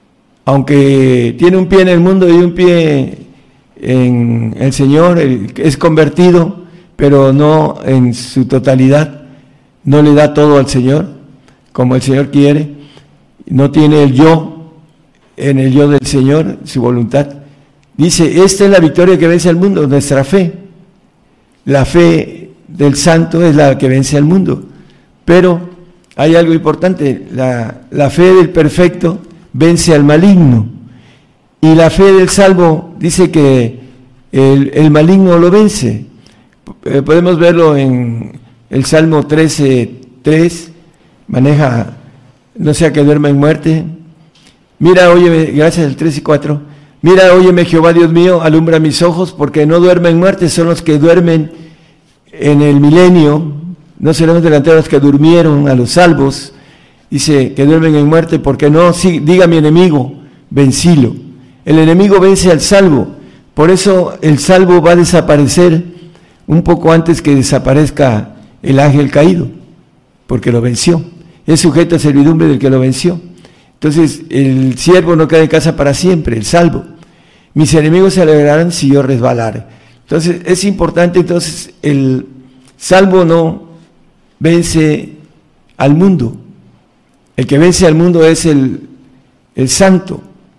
aunque tiene un pie en el mundo y un pie en el Señor, es convertido, pero no en su totalidad, no le da todo al Señor, como el Señor quiere, no tiene el yo en el yo del Señor, su voluntad. Dice, esta es la victoria que vence al mundo, nuestra fe. La fe del santo es la que vence al mundo, pero hay algo importante, la, la fe del perfecto vence al maligno, y la fe del salvo dice que el, el maligno lo vence. Eh, podemos verlo en el Salmo trece tres, maneja, no sea que duerma en muerte. Mira, óyeme, gracias al trece cuatro, mira, óyeme Jehová Dios mío, alumbra mis ojos, porque no duermen en muerte, son los que duermen en el milenio, no seremos delanteros los que durmieron, a los salvos. Dice que duermen en muerte, porque no, sí, diga mi enemigo, vencilo. El enemigo vence al salvo, por eso el salvo va a desaparecer un poco antes que desaparezca el ángel caído, porque lo venció, es sujeto a servidumbre del que lo venció. Entonces el siervo no queda en casa para siempre, el salvo. Mis enemigos se alegrarán si yo resbalare. Entonces es importante, entonces el salvo no vence al mundo. El que vence al mundo es el, el santo.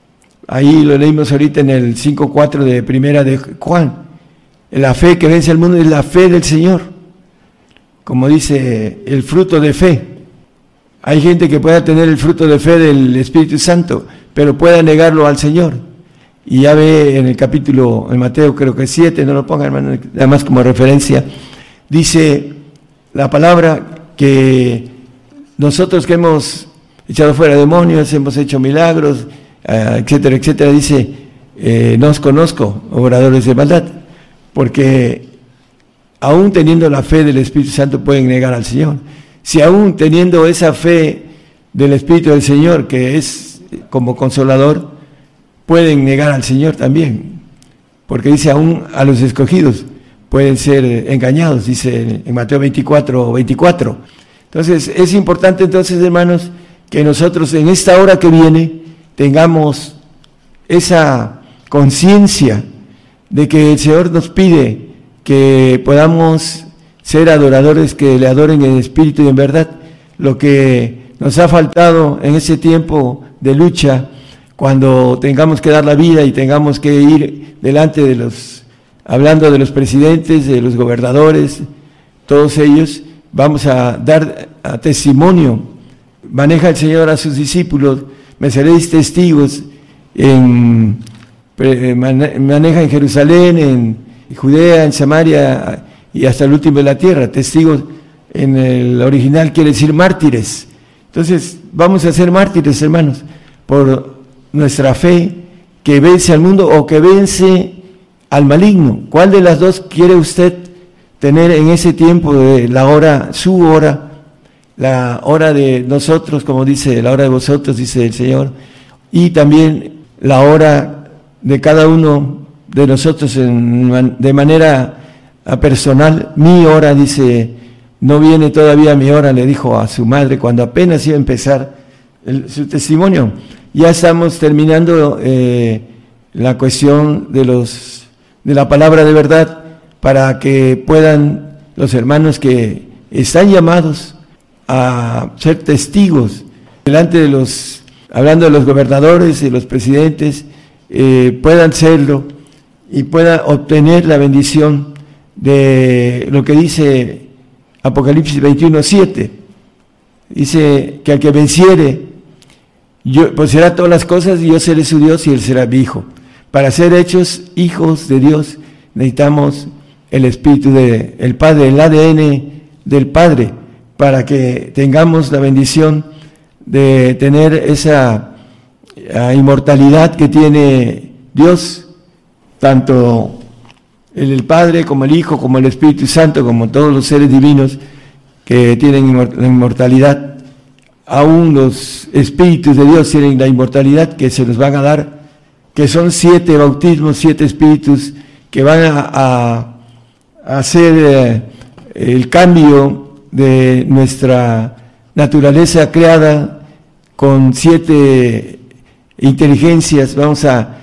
Ahí lo leímos ahorita en el cinco cuatro de primera de Juan. La fe que vence al mundo es la fe del Señor. Como dice, el fruto de fe. Hay gente que pueda tener el fruto de fe del Espíritu Santo, pero pueda negarlo al Señor. Y ya ve en el capítulo, en Mateo creo que siete, no lo pongan hermano, nada más como referencia, dice la palabra que nosotros que hemos echado fuera demonios, hemos hecho milagros, etcétera, etcétera, dice, eh, no os conozco, obradores de maldad, porque aún teniendo la fe del Espíritu Santo pueden negar al Señor. Si aún teniendo esa fe del Espíritu del Señor, que es como consolador, pueden negar al Señor también, porque dice, aún a los escogidos pueden ser engañados, dice en Mateo veinticuatro, veinticuatro. Entonces, es importante entonces, hermanos, que nosotros en esta hora que viene tengamos esa conciencia de que el Señor nos pide que podamos ser adoradores, que le adoren en espíritu y en verdad. Lo que nos ha faltado en ese tiempo de lucha, cuando tengamos que dar la vida y tengamos que ir delante de los, hablando de los presidentes, de los gobernadores, todos ellos, vamos a dar a testimonio. Maneja el Señor a sus discípulos, me seréis testigos, en, maneja en Jerusalén, en Judea, en Samaria y hasta el último de la tierra. Testigos en el original quiere decir mártires. Entonces vamos a ser mártires, hermanos, por nuestra fe que vence al mundo o que vence al maligno. ¿Cuál de las dos quiere usted tener en ese tiempo de la hora, su hora, la hora de nosotros, como dice, la hora de vosotros, dice el Señor, y también la hora de cada uno de nosotros en, de manera personal? Mi hora, dice, no viene todavía mi hora, le dijo a su madre cuando apenas iba a empezar el, su testimonio. Ya estamos terminando eh, la cuestión de los de la palabra de verdad, para que puedan los hermanos que están llamados a ser testigos delante de los, hablando de los gobernadores y los presidentes, eh, puedan serlo y puedan obtener la bendición de lo que dice Apocalipsis veintiuno, siete. Dice que al que venciere, yo poseerá todas las cosas y yo seré su Dios y él será mi hijo. Para ser hechos hijos de Dios necesitamos el Espíritu del Padre, el A D N del Padre, para que tengamos la bendición de tener esa uh, inmortalidad que tiene Dios, tanto el, el Padre como el Hijo, como el Espíritu Santo, como todos los seres divinos que tienen la inmortalidad. Aún los espíritus de Dios tienen la inmortalidad que se nos van a dar, que son siete bautismos, siete espíritus que van a, a, a hacer eh, el cambio de nuestra naturaleza creada con siete inteligencias. Vamos a,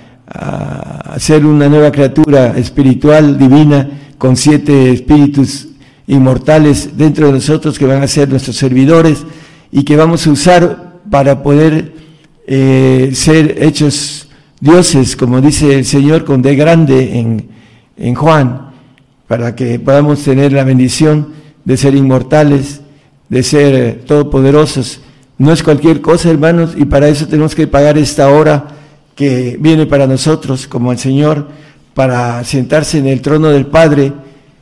a hacer una nueva criatura espiritual, divina, con siete espíritus inmortales dentro de nosotros que van a ser nuestros servidores y que vamos a usar para poder eh, ser hechos dioses, como dice el Señor con D grande en, en Juan, para que podamos tener la bendición de ser inmortales, de ser eh, todopoderosos. No es cualquier cosa, hermanos, y para eso tenemos que pagar esta hora que viene para nosotros, como el Señor, para sentarse en el trono del Padre.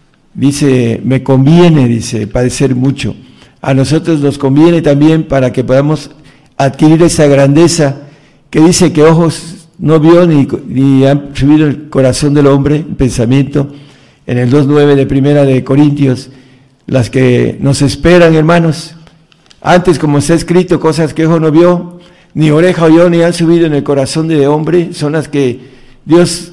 Dice, me conviene, dice, padecer mucho. A nosotros nos conviene también para que podamos adquirir esa grandeza que dice que ojos no vio ni, ni han subido el corazón del hombre, el pensamiento, en el dos nueve de Primera de Corintios, las que nos esperan, hermanos. Antes, como está escrito, cosas que ojo no vio, ni oreja oyó, ni han subido en el corazón de hombre, son las que Dios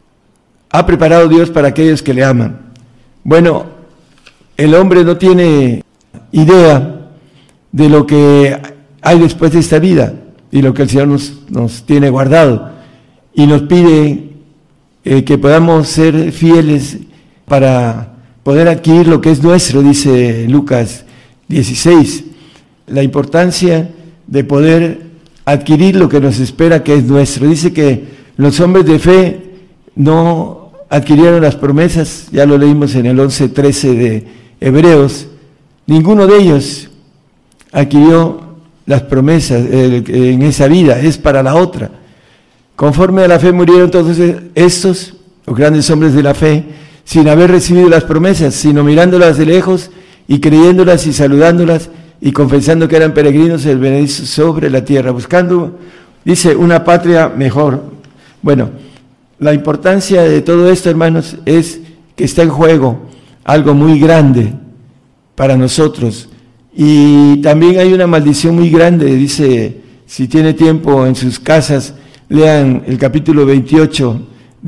ha preparado Dios para aquellos que le aman. Bueno, el hombre no tiene idea de lo que hay después de esta vida y lo que el Señor nos, nos tiene guardado, y nos pide eh, que podamos ser fieles para poder adquirir lo que es nuestro, dice Lucas dieciséis, la importancia de poder adquirir lo que nos espera que es nuestro. Dice que los hombres de fe no adquirieron las promesas, ya lo leímos en el once trece de Hebreos, ninguno de ellos adquirió las promesas eh, en esa vida, es para la otra. Conforme a la fe murieron todos estos, los grandes hombres de la fe, sin haber recibido las promesas, sino mirándolas de lejos y creyéndolas y saludándolas y confesando que eran peregrinos el benedicto sobre la tierra, buscando, dice, una patria mejor. Bueno, la importancia de todo esto, hermanos, es que está en juego algo muy grande para nosotros. Y también hay una maldición muy grande, dice, si tiene tiempo en sus casas, lean el capítulo veintiocho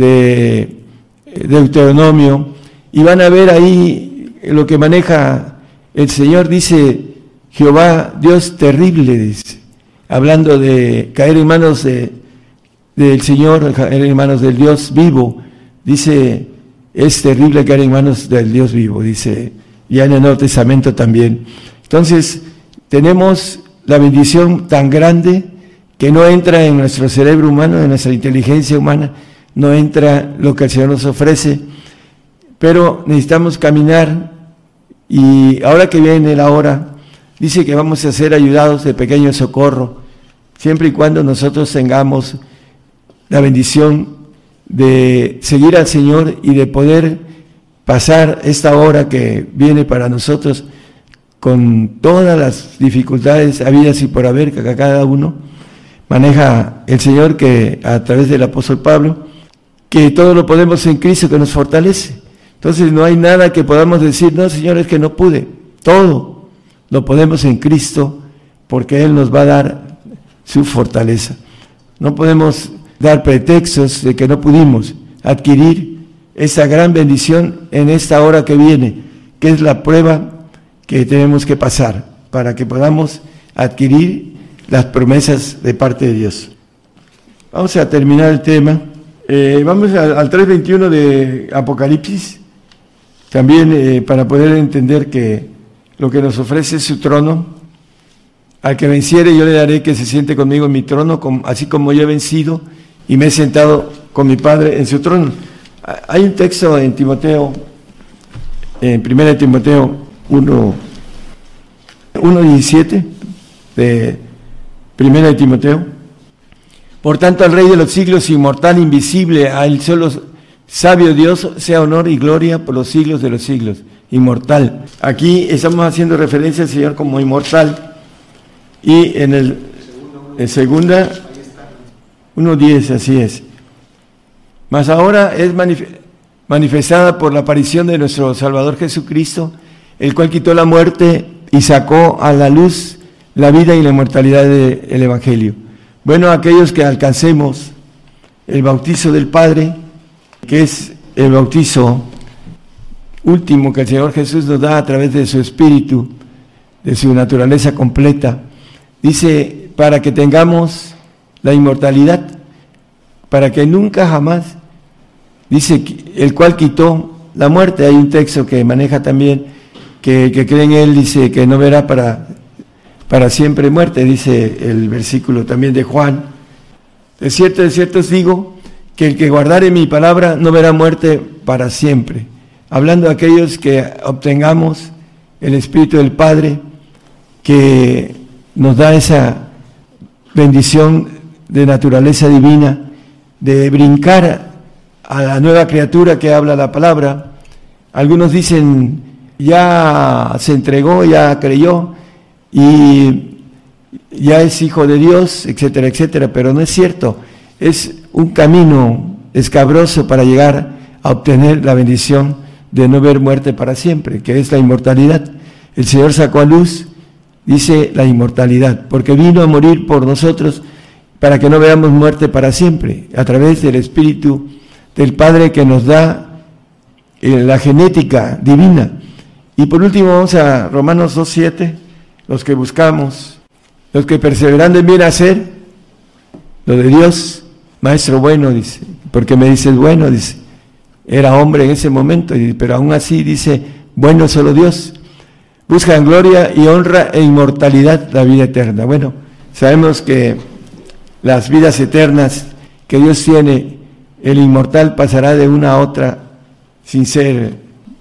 de Deuteronomio y van a ver ahí lo que maneja el Señor. Dice, Jehová, Dios terrible, dice, hablando de caer en manos de, del Señor, caer en manos del Dios vivo. Dice, es terrible caer en manos del Dios vivo, dice, ya en el Nuevo Testamento también. Entonces, tenemos la bendición tan grande que no entra en nuestro cerebro humano, en nuestra inteligencia humana, no entra lo que el Señor nos ofrece, pero necesitamos caminar, y ahora que viene la hora, dice que vamos a ser ayudados de pequeño socorro, siempre y cuando nosotros tengamos la bendición de seguir al Señor y de poder pasar esta hora que viene para nosotros con todas las dificultades habidas y por haber que cada uno maneja el Señor, que a través del apóstol Pablo, que todo lo podemos en Cristo que nos fortalece. Entonces no hay nada que podamos decir, no, Señor, es que no pude. Todo lo podemos en Cristo porque Él nos va a dar su fortaleza. No podemos dar pretextos de que no pudimos adquirir esa gran bendición en esta hora que viene, que es la prueba que tenemos que pasar para que podamos adquirir las promesas de parte de Dios. Vamos a terminar el tema. Eh, vamos al, al tres veintiuno de Apocalipsis. también eh, para poder entender que lo que nos ofrece es su trono. Al que venciere yo le daré que se siente conmigo en mi trono, así como yo he vencido y me he sentado con mi Padre en su trono. Hay un texto en Timoteo, en primera de Timoteo uno diecisiete, de primera de Timoteo. Por tanto, al Rey de los siglos, inmortal, invisible, a él solo sabio Dios, sea honor y gloria por los siglos de los siglos. Inmortal. Aquí estamos haciendo referencia al Señor como inmortal. Y en el en segunda, uno diez, así es. Mas ahora es manifestada por la aparición de nuestro Salvador Jesucristo, el cual quitó la muerte y sacó a la luz la vida y la inmortalidad del Evangelio. Bueno, aquellos que alcancemos el bautizo del Padre, que es el bautizo último que el Señor Jesús nos da a través de su Espíritu, de su naturaleza completa, dice, para que tengamos la inmortalidad, para que nunca jamás, dice, el cual quitó la muerte. Hay un texto que maneja también, que, que cree en él, dice que no verá para, para siempre muerte, dice el versículo también de Juan. De cierto, de cierto os digo, que el que guardare mi palabra no verá muerte para siempre. Hablando de aquellos que obtengamos el Espíritu del Padre, que nos da esa bendición de naturaleza divina, de brincar a la nueva criatura que habla la palabra. Algunos dicen, ya se entregó, ya creyó, y ya es hijo de Dios, etcétera, etcétera, pero no es cierto. Es un camino escabroso para llegar a obtener la bendición de no ver muerte para siempre, que es la inmortalidad. El Señor sacó a luz, dice, la inmortalidad, porque vino a morir por nosotros para que no veamos muerte para siempre, a través del Espíritu del Padre que nos da eh, la genética divina. Y por último vamos a Romanos dos siete, los que buscamos, los que perseverando en bien hacer, lo de Dios, maestro bueno, dice, porque me dices bueno, dice, era hombre en ese momento, pero aún así dice, bueno solo Dios, buscan gloria y honra e inmortalidad, la vida eterna. Bueno, sabemos que las vidas eternas que Dios tiene, el inmortal pasará de una a otra sin ser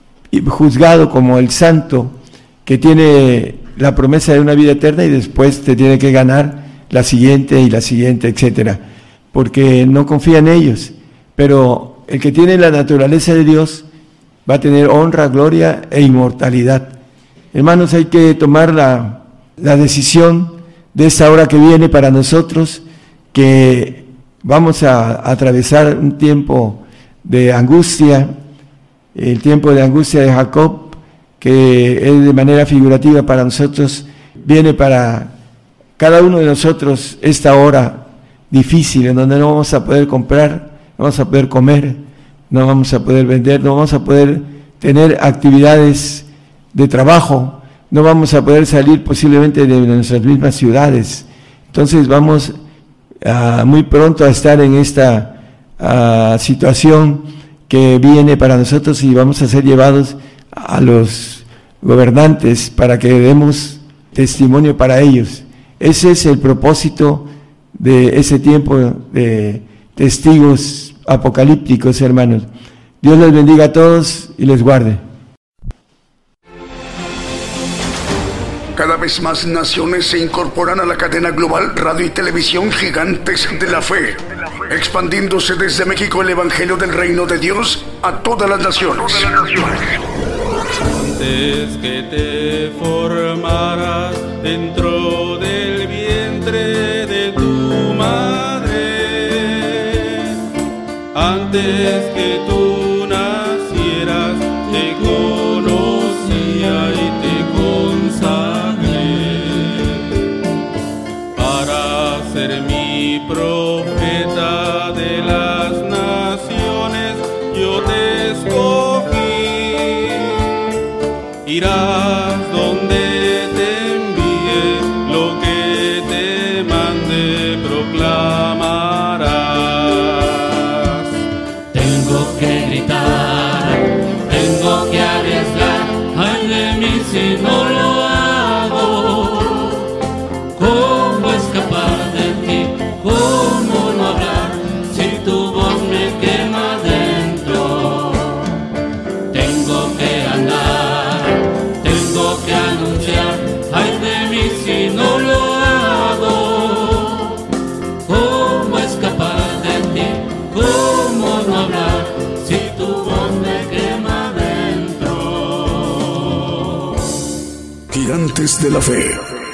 juzgado como el santo que tiene la promesa de una vida eterna y después te tiene que ganar la siguiente y la siguiente, etcétera, porque no confía en ellos. Pero el que tiene la naturaleza de Dios va a tener honra, gloria e inmortalidad. Hermanos, hay que tomar la, la decisión de esta hora que viene para nosotros, que vamos a, a atravesar un tiempo de angustia, el tiempo de angustia de Jacob, que es de manera figurativa para nosotros, viene para cada uno de nosotros esta hora difícil, en donde no vamos a poder comprar, no vamos a poder comer, no vamos a poder vender, no vamos a poder tener actividades de trabajo, no vamos a poder salir posiblemente de nuestras mismas ciudades. Entonces vamos a, muy pronto a estar en esta a, situación que viene para nosotros y vamos a ser llevados a los gobernantes para que demos testimonio para ellos. Ese es el propósito de ese tiempo de testigos apocalípticos, hermanos. Dios les bendiga a todos y les guarde. Cada vez más naciones se incorporan a la cadena global Radio y Televisión Gigantes de la Fe, expandiéndose desde México el Evangelio del Reino de Dios a todas las naciones. Antes que te formaras dentro del vientre de tu madre, antes que tú nacieras, te conocía y te consagré para ser mi profeta de las naciones. Yo te escogí. Irás donde te envíe, lo que te mande proclamarás. Tengo que gritar, tengo que alegrar. Gigantes de la Fe.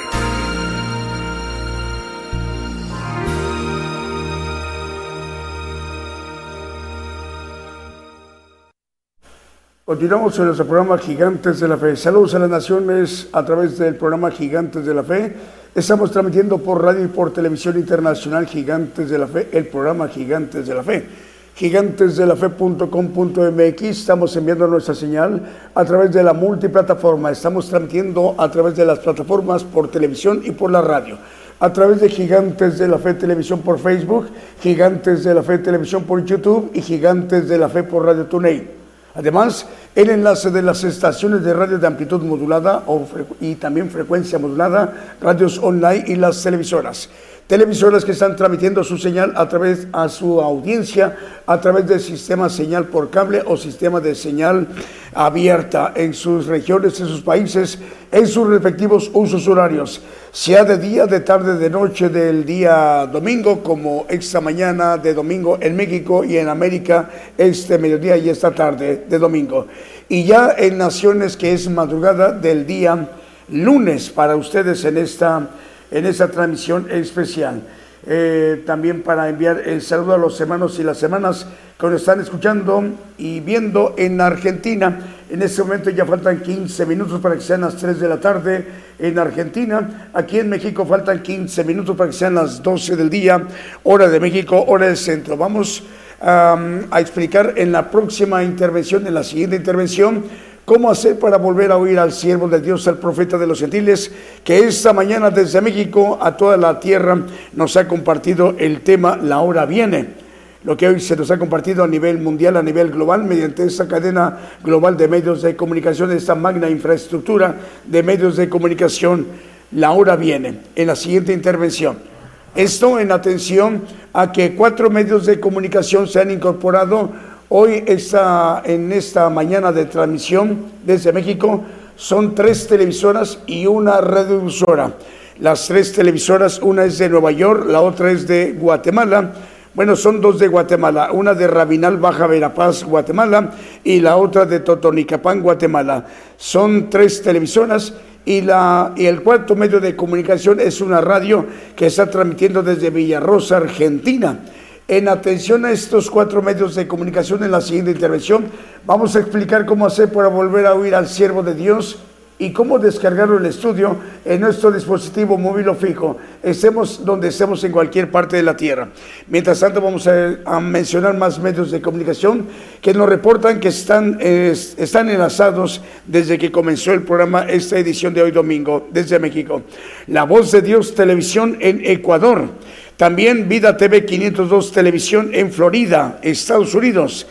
Continuamos en nuestro programa Gigantes de la Fe. Saludos a las naciones a través del programa Gigantes de la Fe. Estamos transmitiendo por radio y por televisión internacional Gigantes de la Fe, el programa Gigantes de la Fe. gigantes de la fe punto com punto m x. Estamos enviando nuestra señal a través de la multiplataforma. Estamos transmitiendo a través de las plataformas por televisión y por la radio. A través de Gigantes de la Fe Televisión por Facebook, Gigantes de la Fe Televisión por YouTube y Gigantes de la Fe por Radio TuneIn. Además, el enlace de las estaciones de radio de amplitud modulada o y también frecuencia modulada, radios online y las televisoras. Televisoras que están transmitiendo su señal a través a su audiencia a través del sistema señal por cable o sistema de señal abierta en sus regiones, en sus países, en sus respectivos usos horarios, sea de día, de tarde, de noche, del día domingo, como esta mañana de domingo en México y en América este mediodía y esta tarde de domingo. Y ya en naciones que es madrugada del día lunes para ustedes en esta en esta transmisión especial. Eh, también para enviar el saludo a los hermanos y las hermanas que nos están escuchando y viendo en Argentina. En este momento ya faltan quince minutos para que sean las tres de la tarde en Argentina. Aquí en México faltan quince minutos para que sean las doce del día, hora de México, hora del centro. Vamos um, a explicar en la próxima intervención, en la siguiente intervención, cómo hacer para volver a oír al siervo de Dios, al profeta de los gentiles, que esta mañana desde México a toda la tierra nos ha compartido el tema La Hora Viene, lo que hoy se nos ha compartido a nivel mundial, a nivel global, mediante esta cadena global de medios de comunicación, esta magna infraestructura de medios de comunicación. La Hora Viene, en la siguiente intervención. Esto en atención a que cuatro medios de comunicación se han incorporado hoy está en esta mañana de transmisión desde México. Son tres televisoras y una radiodifusora. Las tres televisoras, una es de Nueva York, la otra es de Guatemala. Bueno, son dos de Guatemala, una de Rabinal, Baja Verapaz, Guatemala, y la otra de Totonicapán, Guatemala. Son tres televisoras y, la, y el cuarto medio de comunicación es una radio que está transmitiendo desde Villarrosa, Argentina. En atención a estos cuatro medios de comunicación, en la siguiente intervención vamos a explicar cómo hacer para volver a oír al siervo de Dios y cómo descargarlo en el estudio en nuestro dispositivo móvil o fijo, estemos donde estemos en cualquier parte de la tierra. Mientras tanto vamos a, a mencionar más medios de comunicación que nos reportan que están, eh, están enlazados desde que comenzó el programa, esta edición de hoy domingo, desde México. La Voz de Dios Televisión en Ecuador. También Vida T V quinientos dos Televisión en Florida, Estados Unidos.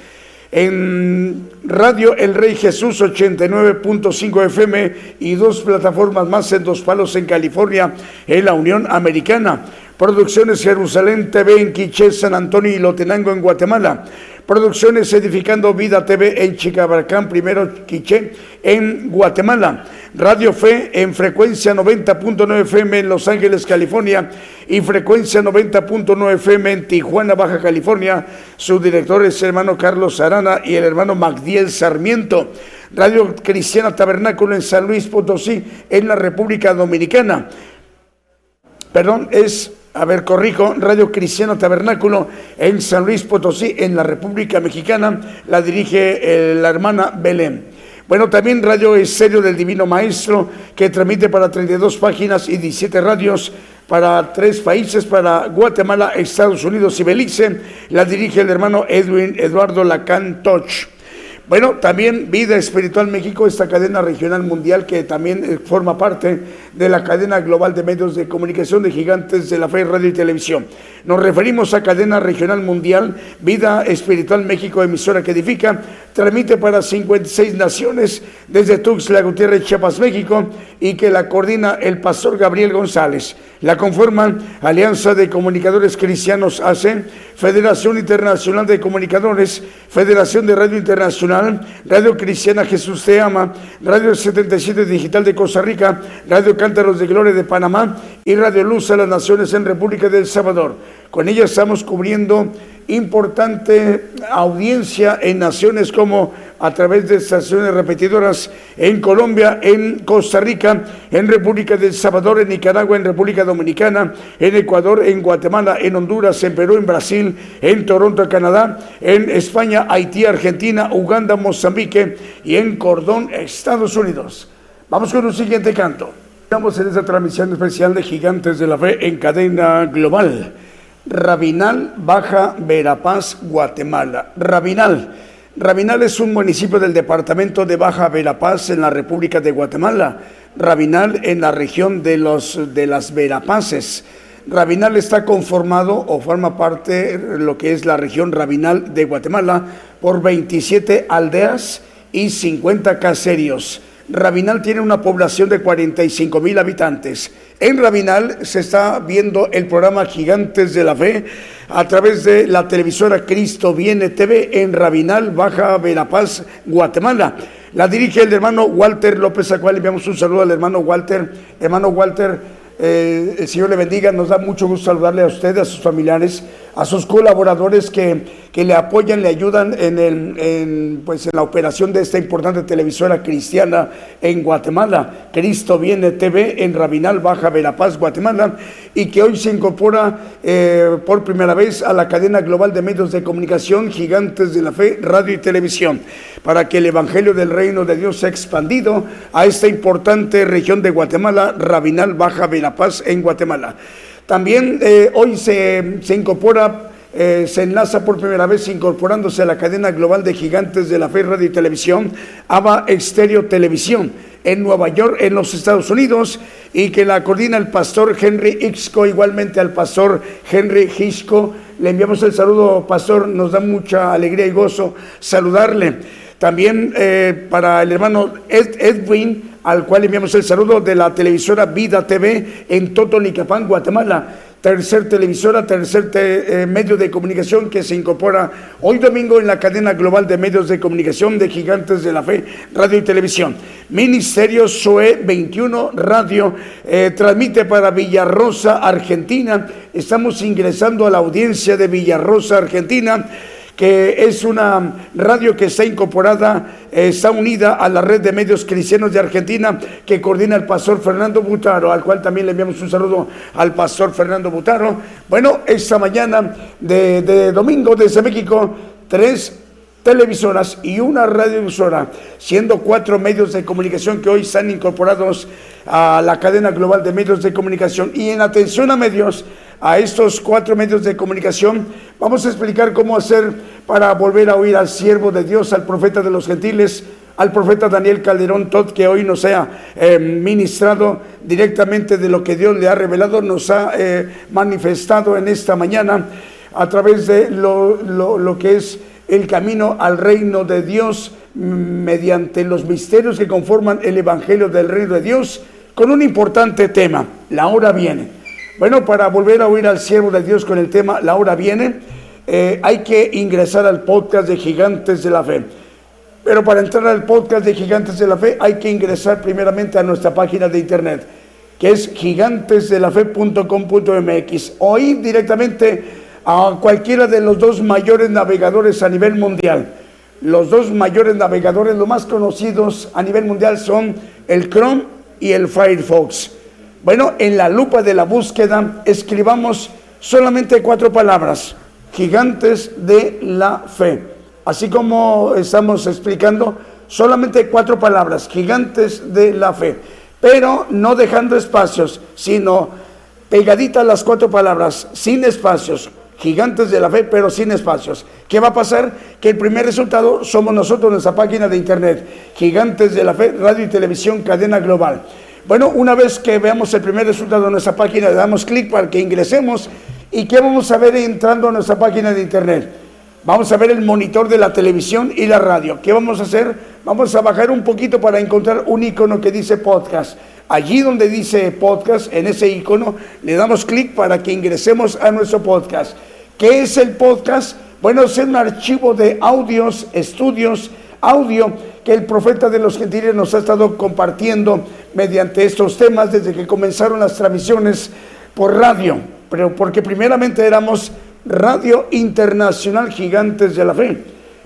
En Radio El Rey Jesús ochenta y nueve punto cinco F M y dos plataformas más en Dos Palos en California, en la Unión Americana. Producciones Jerusalén T V en Quiché, San Antonio y Lotenango en Guatemala. Producciones Edificando Vida T V en Chicabarcán, primero Quiché, en Guatemala. Radio Fe en frecuencia noventa punto nueve F M en Los Ángeles, California, y frecuencia noventa punto nueve F M en Tijuana, Baja California. Su director es el hermano Carlos Arana y el hermano Magdiel Sarmiento. Radio Cristiana Tabernáculo en San Luis Potosí, en la República Dominicana. Perdón, es... A ver, corrijo, Radio Cristiano Tabernáculo en San Luis Potosí, en la República Mexicana, la dirige eh, la hermana Belén. Bueno, también Radio Estéreo del Divino Maestro, que transmite para treinta y dos páginas y diecisiete radios para tres países, para Guatemala, Estados Unidos y Belice, la dirige el hermano Edwin Eduardo Lacan Toch. Bueno, también Vida Espiritual México, esta cadena regional mundial que también forma parte de la cadena global de medios de comunicación de Gigantes de la Fe, Radio y Televisión. Nos referimos a cadena regional mundial, Vida Espiritual México, emisora que edifica, transmite para cincuenta y seis naciones desde Tuxtla Gutiérrez, Chiapas, México, y que la coordina el pastor Gabriel González. La conforman Alianza de Comunicadores Cristianos A C, Federación Internacional de Comunicadores, Federación de Radio Internacional, Radio Cristiana Jesús Te Ama, Radio setenta y siete Digital de Costa Rica, Radio Cántaros de Gloria de Panamá y Radio Luz a las Naciones en República del Salvador. Con ella estamos cubriendo importante audiencia en naciones como a través de estaciones repetidoras en Colombia, en Costa Rica, en República del Salvador, en Nicaragua, en República Dominicana, en Ecuador, en Guatemala, en Honduras, en Perú, en Brasil, en Toronto, Canadá, en España, Haití, Argentina, Uganda, Mozambique y en Cordón, Estados Unidos. Vamos con un siguiente canto. Estamos en esta transmisión especial de Gigantes de la Fe en cadena global. Rabinal, Baja Verapaz, Guatemala. Rabinal. Rabinal es un municipio del departamento de Baja Verapaz en la República de Guatemala. Rabinal en la región de, los, de las Verapaces. Rabinal está conformado o forma parte de lo que es la región Rabinal de Guatemala por veintisiete aldeas y cincuenta caseríos. Rabinal tiene una población de cuarenta y cinco mil habitantes. En Rabinal se está viendo el programa Gigantes de la Fe a través de la televisora Cristo Viene T V en Rabinal, Baja Verapaz, Guatemala. La dirige el hermano Walter López, a cual le enviamos un saludo al hermano Walter. Hermano Walter, eh, el Señor le bendiga, nos da mucho gusto saludarle a usted, a sus familiares, a sus colaboradores que, que le apoyan, le ayudan en, el, en, pues en la operación de esta importante televisora cristiana en Guatemala, Cristo Viene T V en Rabinal, Baja Verapaz, Guatemala, y que hoy se incorpora eh, por primera vez a la cadena global de medios de comunicación Gigantes de la Fe, radio y televisión, para que el Evangelio del Reino de Dios sea expandido a esta importante región de Guatemala, Rabinal, Baja Verapaz en Guatemala. También eh, hoy se, se incorpora, eh, se enlaza por primera vez incorporándose a la cadena global de Gigantes de la Fe, radio y televisión, Ava Exterior Televisión, en Nueva York, en los Estados Unidos, y que la coordina el pastor Henry Ixco, igualmente al pastor Henry Ixco. Le enviamos el saludo, pastor, nos da mucha alegría y gozo saludarle. También eh, para el hermano Ed, Edwin, al cual enviamos el saludo de la televisora Vida T V en Totonicapán, Guatemala. Tercer televisora, tercer te, eh, medio de comunicación que se incorpora hoy domingo en la cadena global de medios de comunicación de Gigantes de la Fe, radio y televisión. Ministerio S O E veintiuno Radio eh, transmite para Villarrosa, Argentina. Estamos ingresando a la audiencia de Villarrosa, Argentina, que es una radio que está incorporada, eh, está unida a la red de medios cristianos de Argentina, que coordina el pastor Fernando Butaro, al cual también le enviamos un saludo al pastor Fernando Butaro. Bueno, esta mañana de, de domingo desde México, tres televisoras y una radiodifusora, siendo cuatro medios de comunicación que hoy están incorporados a la cadena global de medios de comunicación. Y en atención a medios, a estos cuatro medios de comunicación, vamos a explicar cómo hacer para volver a oír al siervo de Dios, al profeta de los gentiles, al profeta Daniel Calderón Todd, que hoy nos ha eh, ministrado directamente de lo que Dios le ha revelado, nos ha eh, manifestado en esta mañana a través de lo, lo, lo que es el camino al reino de Dios mediante los misterios que conforman el Evangelio del Reino de Dios, con un importante tema: la hora viene. Bueno, para volver a oír al siervo de Dios con el tema la hora viene, eh, hay que ingresar al podcast de Gigantes de la Fe. Pero para entrar al podcast de Gigantes de la Fe hay que ingresar primeramente a nuestra página de internet, que es gigantes de la fe punto com punto m x, o ir directamente a cualquiera de los dos mayores navegadores a nivel mundial. Los dos mayores navegadores, los más conocidos a nivel mundial, son el Chrome y el Firefox. Bueno, en la lupa de la búsqueda escribamos solamente cuatro palabras: Gigantes de la Fe. Así como estamos explicando, solamente cuatro palabras: Gigantes de la Fe. Pero no dejando espacios, sino pegaditas las cuatro palabras, sin espacios. Gigantes de la Fe, pero sin espacios. ¿Qué va a pasar? Que el primer resultado somos nosotros, nuestra página de internet, Gigantes de la Fe, radio y televisión, cadena global. Bueno, una vez que veamos el primer resultado de nuestra página, le damos clic para que ingresemos. ¿Y qué vamos a ver entrando a nuestra página de internet? Vamos a ver el monitor de la televisión y la radio. ¿Qué vamos a hacer? Vamos a bajar un poquito para encontrar un icono que dice podcast. Allí donde dice podcast, en ese icono, le damos clic para que ingresemos a nuestro podcast. ¿Qué es el podcast? Bueno, es un archivo de audios, estudios, audio que el profeta de los gentiles nos ha estado compartiendo mediante estos temas desde que comenzaron las transmisiones por radio. Pero porque primeramente éramos Radio Internacional Gigantes de la Fe.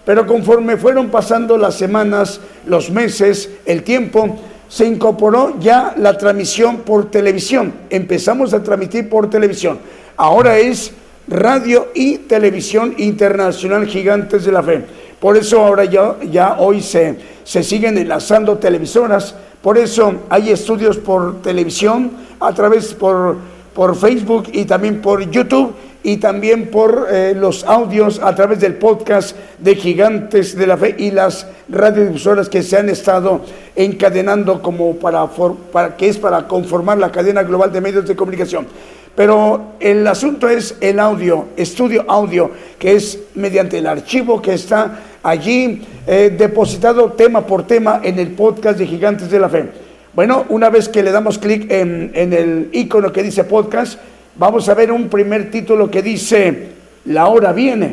pero conforme fueron pasando las semanas, los meses, el tiempo, se incorporó ya la transmisión por televisión. Empezamos a transmitir por televisión. Ahora es radio y televisión internacional Gigantes de la Fe. Por eso ahora ya, ya hoy se, se siguen enlazando televisoras. Por eso hay estudios por televisión, a través por, por Facebook y también por YouTube, y también por eh, los audios a través del podcast de Gigantes de la Fe y las radiodifusoras que se han estado encadenando como para, for, para que es para conformar la cadena global de medios de comunicación. Pero el asunto es el audio, estudio audio, que es mediante el archivo que está allí eh, depositado tema por tema en el podcast de Gigantes de la Fe. Bueno, una vez que le damos clic en, en el icono que dice podcast, vamos a ver un primer título que dice La hora viene.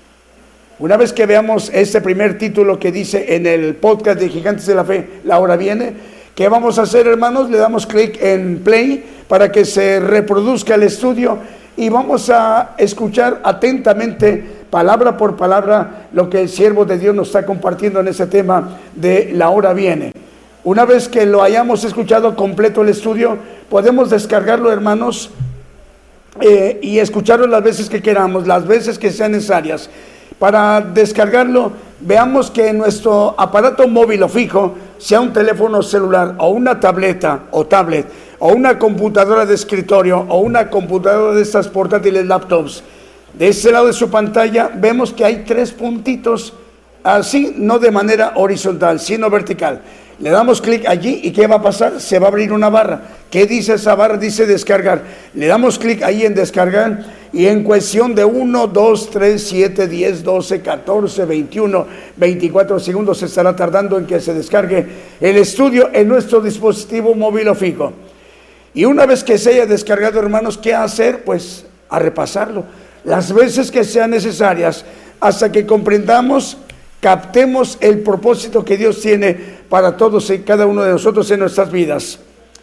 Una vez que veamos este primer título que dice en el podcast de Gigantes de la Fe, La hora viene, ¿qué vamos a hacer, hermanos? Le damos clic en play para que se reproduzca el estudio y vamos a escuchar atentamente, palabra por palabra, lo que el siervo de Dios nos está compartiendo en ese tema de La hora viene. Una vez que lo hayamos escuchado completo el estudio, podemos descargarlo, hermanos, eh, y escucharlo las veces que queramos, las veces que sean necesarias. Para descargarlo, veamos que nuestro aparato móvil o fijo, sea un teléfono celular o una tableta o tablet o una computadora de escritorio o una computadora de estas portátiles laptops, de ese lado de su pantalla vemos que hay tres puntitos, así, no de manera horizontal, sino vertical. Le damos clic allí y ¿qué va a pasar? Se va a abrir una barra. ¿Qué dice esa barra? Dice descargar. Le damos clic ahí en descargar y en cuestión de uno, dos, tres, siete, diez, doce, catorce, veintiuno, veinticuatro segundos se estará tardando en que se descargue el estudio en nuestro dispositivo móvil o fijo. Y una vez que se haya descargado, hermanos, ¿qué hacer? Pues a repasarlo las veces que sean necesarias hasta que comprendamos, captemos el propósito que Dios tiene para todos y cada uno de nosotros en nuestras vidas.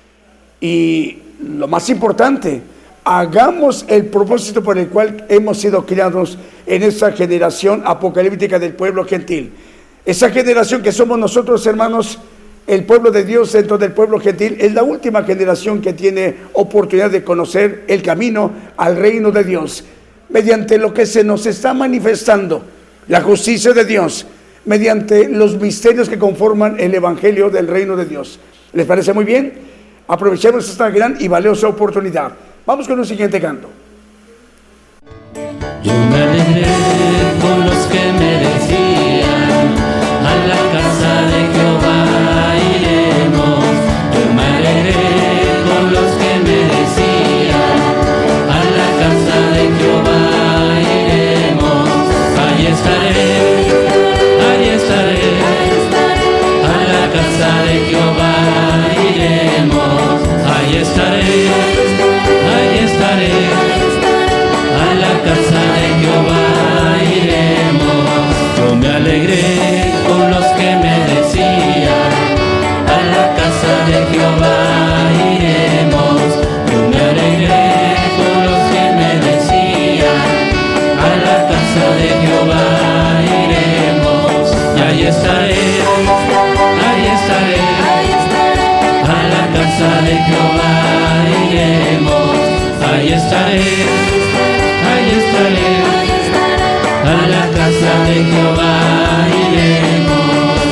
Y lo más importante, hagamos el propósito por el cual hemos sido criados en esa generación apocalíptica del pueblo gentil. Esa generación que somos nosotros, hermanos, el pueblo de Dios dentro del pueblo gentil, es la última generación que tiene oportunidad de conocer el camino al reino de Dios, mediante lo que se nos está manifestando, la justicia de Dios, mediante los misterios que conforman el evangelio del reino de Dios. ¿Les parece muy bien? Aprovechemos esta gran y valiosa oportunidad. Vamos con un siguiente canto. Yo me alegré con los que me decían, a la casa de Jehová iremos. Yo me alegré con los que me decían, a la casa de Jehová iremos. Ahí estaré, ahí estaré, a la casa de Jehová iremos. Ahí estaré, ahí estaré, a la casa de Jehová iremos. Yo me alegré con los que me decían, a la casa de Jehová iremos. Yo me alegré con los que me decían, a la casa de Jehová iremos. Y ahí estaré, ahí estaré, a la casa de Jehová iremos. Ahí estaré, ahí estaré, a la casa de Jehová iremos.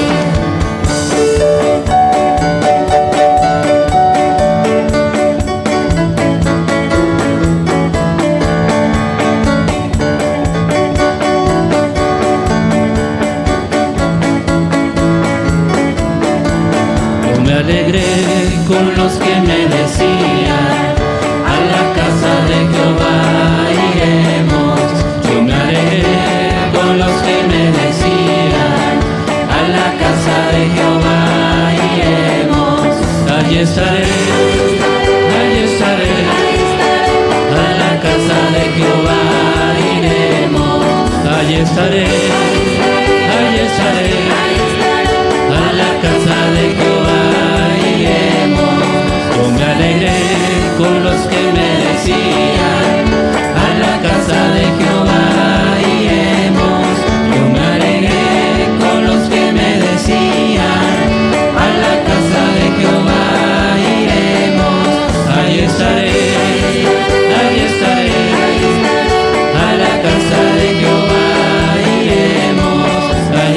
Yo me alegré con los que me decían, a la casa de Jehová iremos. Yo me alegré con los que me decían, a la casa de Jehová iremos. Allí estaré, allí estaré, a la casa de Jehová iremos. Allí estaré, allí estaré, a la casa de Jehová iremos. Yo me alegré con los que me decían, a la casa de Jehová iremos. Yo me alegré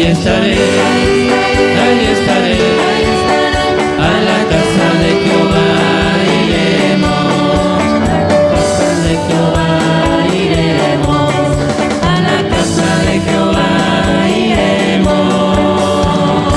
ahí estaré, ahí estaré, a la casa de Jehová iremos, a la casa de Jehová iremos, a la casa de Jehová iremos.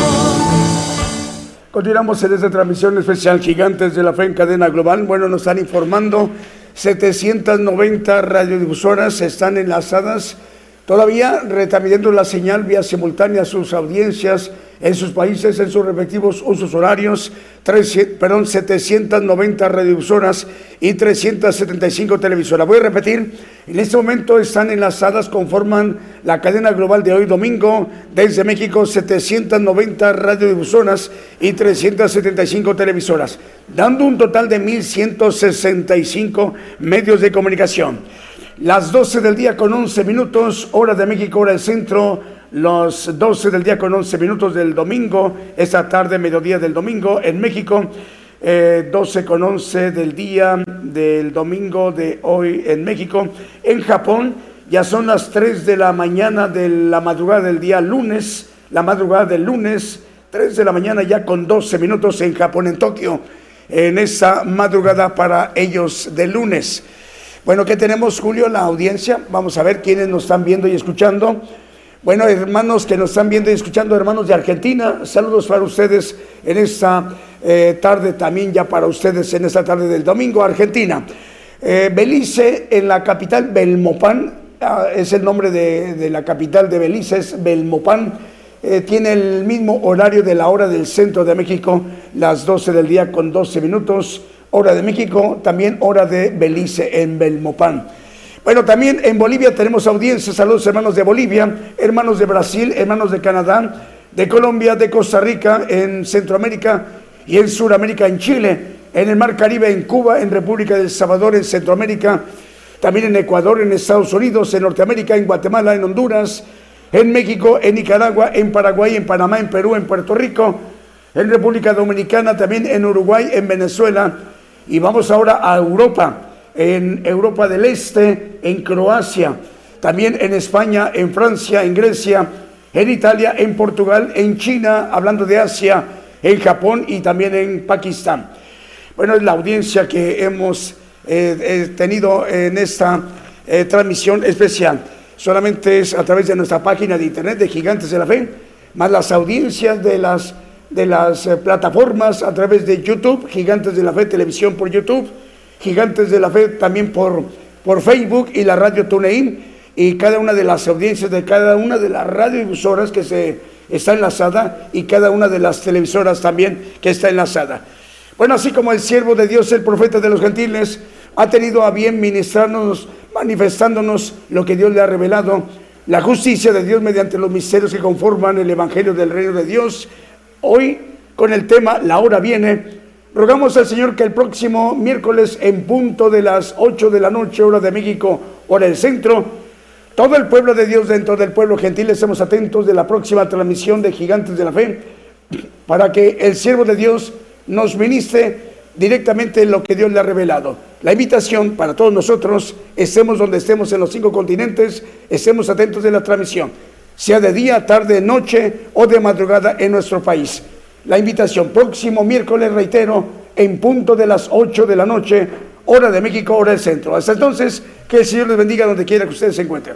Continuamos en esta transmisión especial Gigantes de la Fe en cadena global. Bueno, nos están informando, setecientas noventa radiodifusoras están enlazadas todavía retransmitiendo la señal vía simultánea a sus audiencias en sus países, en sus respectivos usos horarios, tres, perdón, setecientas noventa radiodifusoras y trescientas setenta y cinco televisoras. Voy a repetir, en este momento están enlazadas, conforman la cadena global de hoy domingo, desde México, setecientas noventa radiodifusoras y trescientas setenta y cinco televisoras, dando un total de mil ciento sesenta y cinco medios de comunicación. Las doce del día con once minutos, hora de México, hora del centro. Los doce del día con once minutos del domingo, esta tarde, mediodía del domingo en México, eh, doce con once del día del domingo de hoy en México. En Japón ya son las tres de la mañana de la madrugada del día lunes, la madrugada del lunes, tres de la mañana ya con doce minutos en Japón, en Tokio, en esa madrugada para ellos de lunes. Bueno, ¿qué tenemos, Julio? La audiencia, vamos a ver quiénes nos están viendo y escuchando. Bueno, hermanos que nos están viendo y escuchando, hermanos de Argentina, saludos para ustedes en esta eh, tarde, también ya para ustedes en esta tarde del domingo, Argentina. Eh, Belice, en la capital, Belmopán, ah, es el nombre de, de la capital de Belice, es Belmopán, eh, tiene el mismo horario de la hora del centro de México, las doce del día con doce minutos, hora de México, también hora de Belice en Belmopán. Bueno, también en Bolivia tenemos audiencia. Saludos, hermanos de Bolivia, hermanos de Brasil, hermanos de Canadá, de Colombia, de Costa Rica, en Centroamérica y en Sudamérica, en Chile, en el Mar Caribe, en Cuba, en República del Salvador, en Centroamérica, también en Ecuador, en Estados Unidos, en Norteamérica, en Guatemala, en Honduras, en México, en Nicaragua, en Paraguay, en Panamá, en Perú, en Puerto Rico, en República Dominicana, también en Uruguay, en Venezuela. Y vamos ahora a Europa. En Europa del Este, en Croacia, también en España, en Francia, en Grecia, en Italia, en Portugal, en China, hablando de Asia, en Japón y también en Pakistán. Bueno, es la audiencia que hemos eh, eh, tenido en esta eh, transmisión especial. Solamente es a través de nuestra página de internet de Gigantes de la Fe, más las audiencias de las, de las eh, plataformas a través de YouTube, Gigantes de la Fe Televisión por YouTube, Gigantes de la Fe también por, por Facebook y la radio TuneIn, y cada una de las audiencias de cada una de las radiodifusoras que se está enlazada y cada una de las televisoras también que está enlazada. Bueno, así como el siervo de Dios, el profeta de los gentiles, ha tenido a bien ministrarnos, manifestándonos lo que Dios le ha revelado, la justicia de Dios mediante los misterios que conforman el evangelio del reino de Dios. Hoy, con el tema La hora viene, rogamos al Señor que el próximo miércoles en punto de las ocho de la noche, hora de México, hora del centro, todo el pueblo de Dios dentro del pueblo gentil estemos atentos de la próxima transmisión de Gigantes de la Fe, para que el siervo de Dios nos ministre directamente lo que Dios le ha revelado. La invitación para todos nosotros, estemos donde estemos en los cinco continentes, estemos atentos de la transmisión, sea de día, tarde, noche o de madrugada en nuestro país. La invitación, próximo miércoles, reitero, en punto de las ocho de la noche, hora de México, hora del centro. Hasta entonces, que el Señor les bendiga donde quiera que ustedes se encuentren.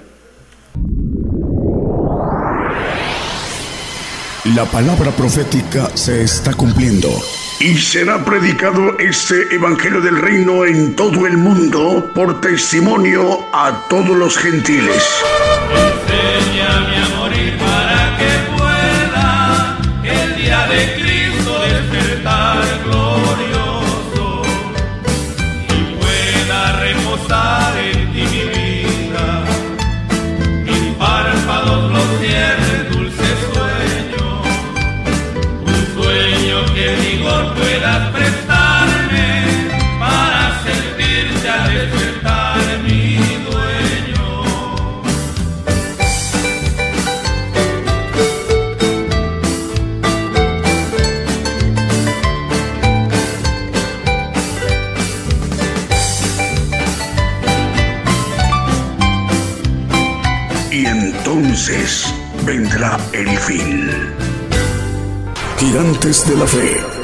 La palabra profética se está cumpliendo. Y será predicado este evangelio del reino en todo el mundo por testimonio a todos los gentiles. Enséñame a morir para que pueda el día de Cristo despertar glorioso y pueda reposar en ti mi vida. Mis párpados los cierren dulce sueño, un sueño que vigor puedas prestarme para sentirte al despertar mi dueño. Y entonces vendrá el fin. Gigantes de la Fe.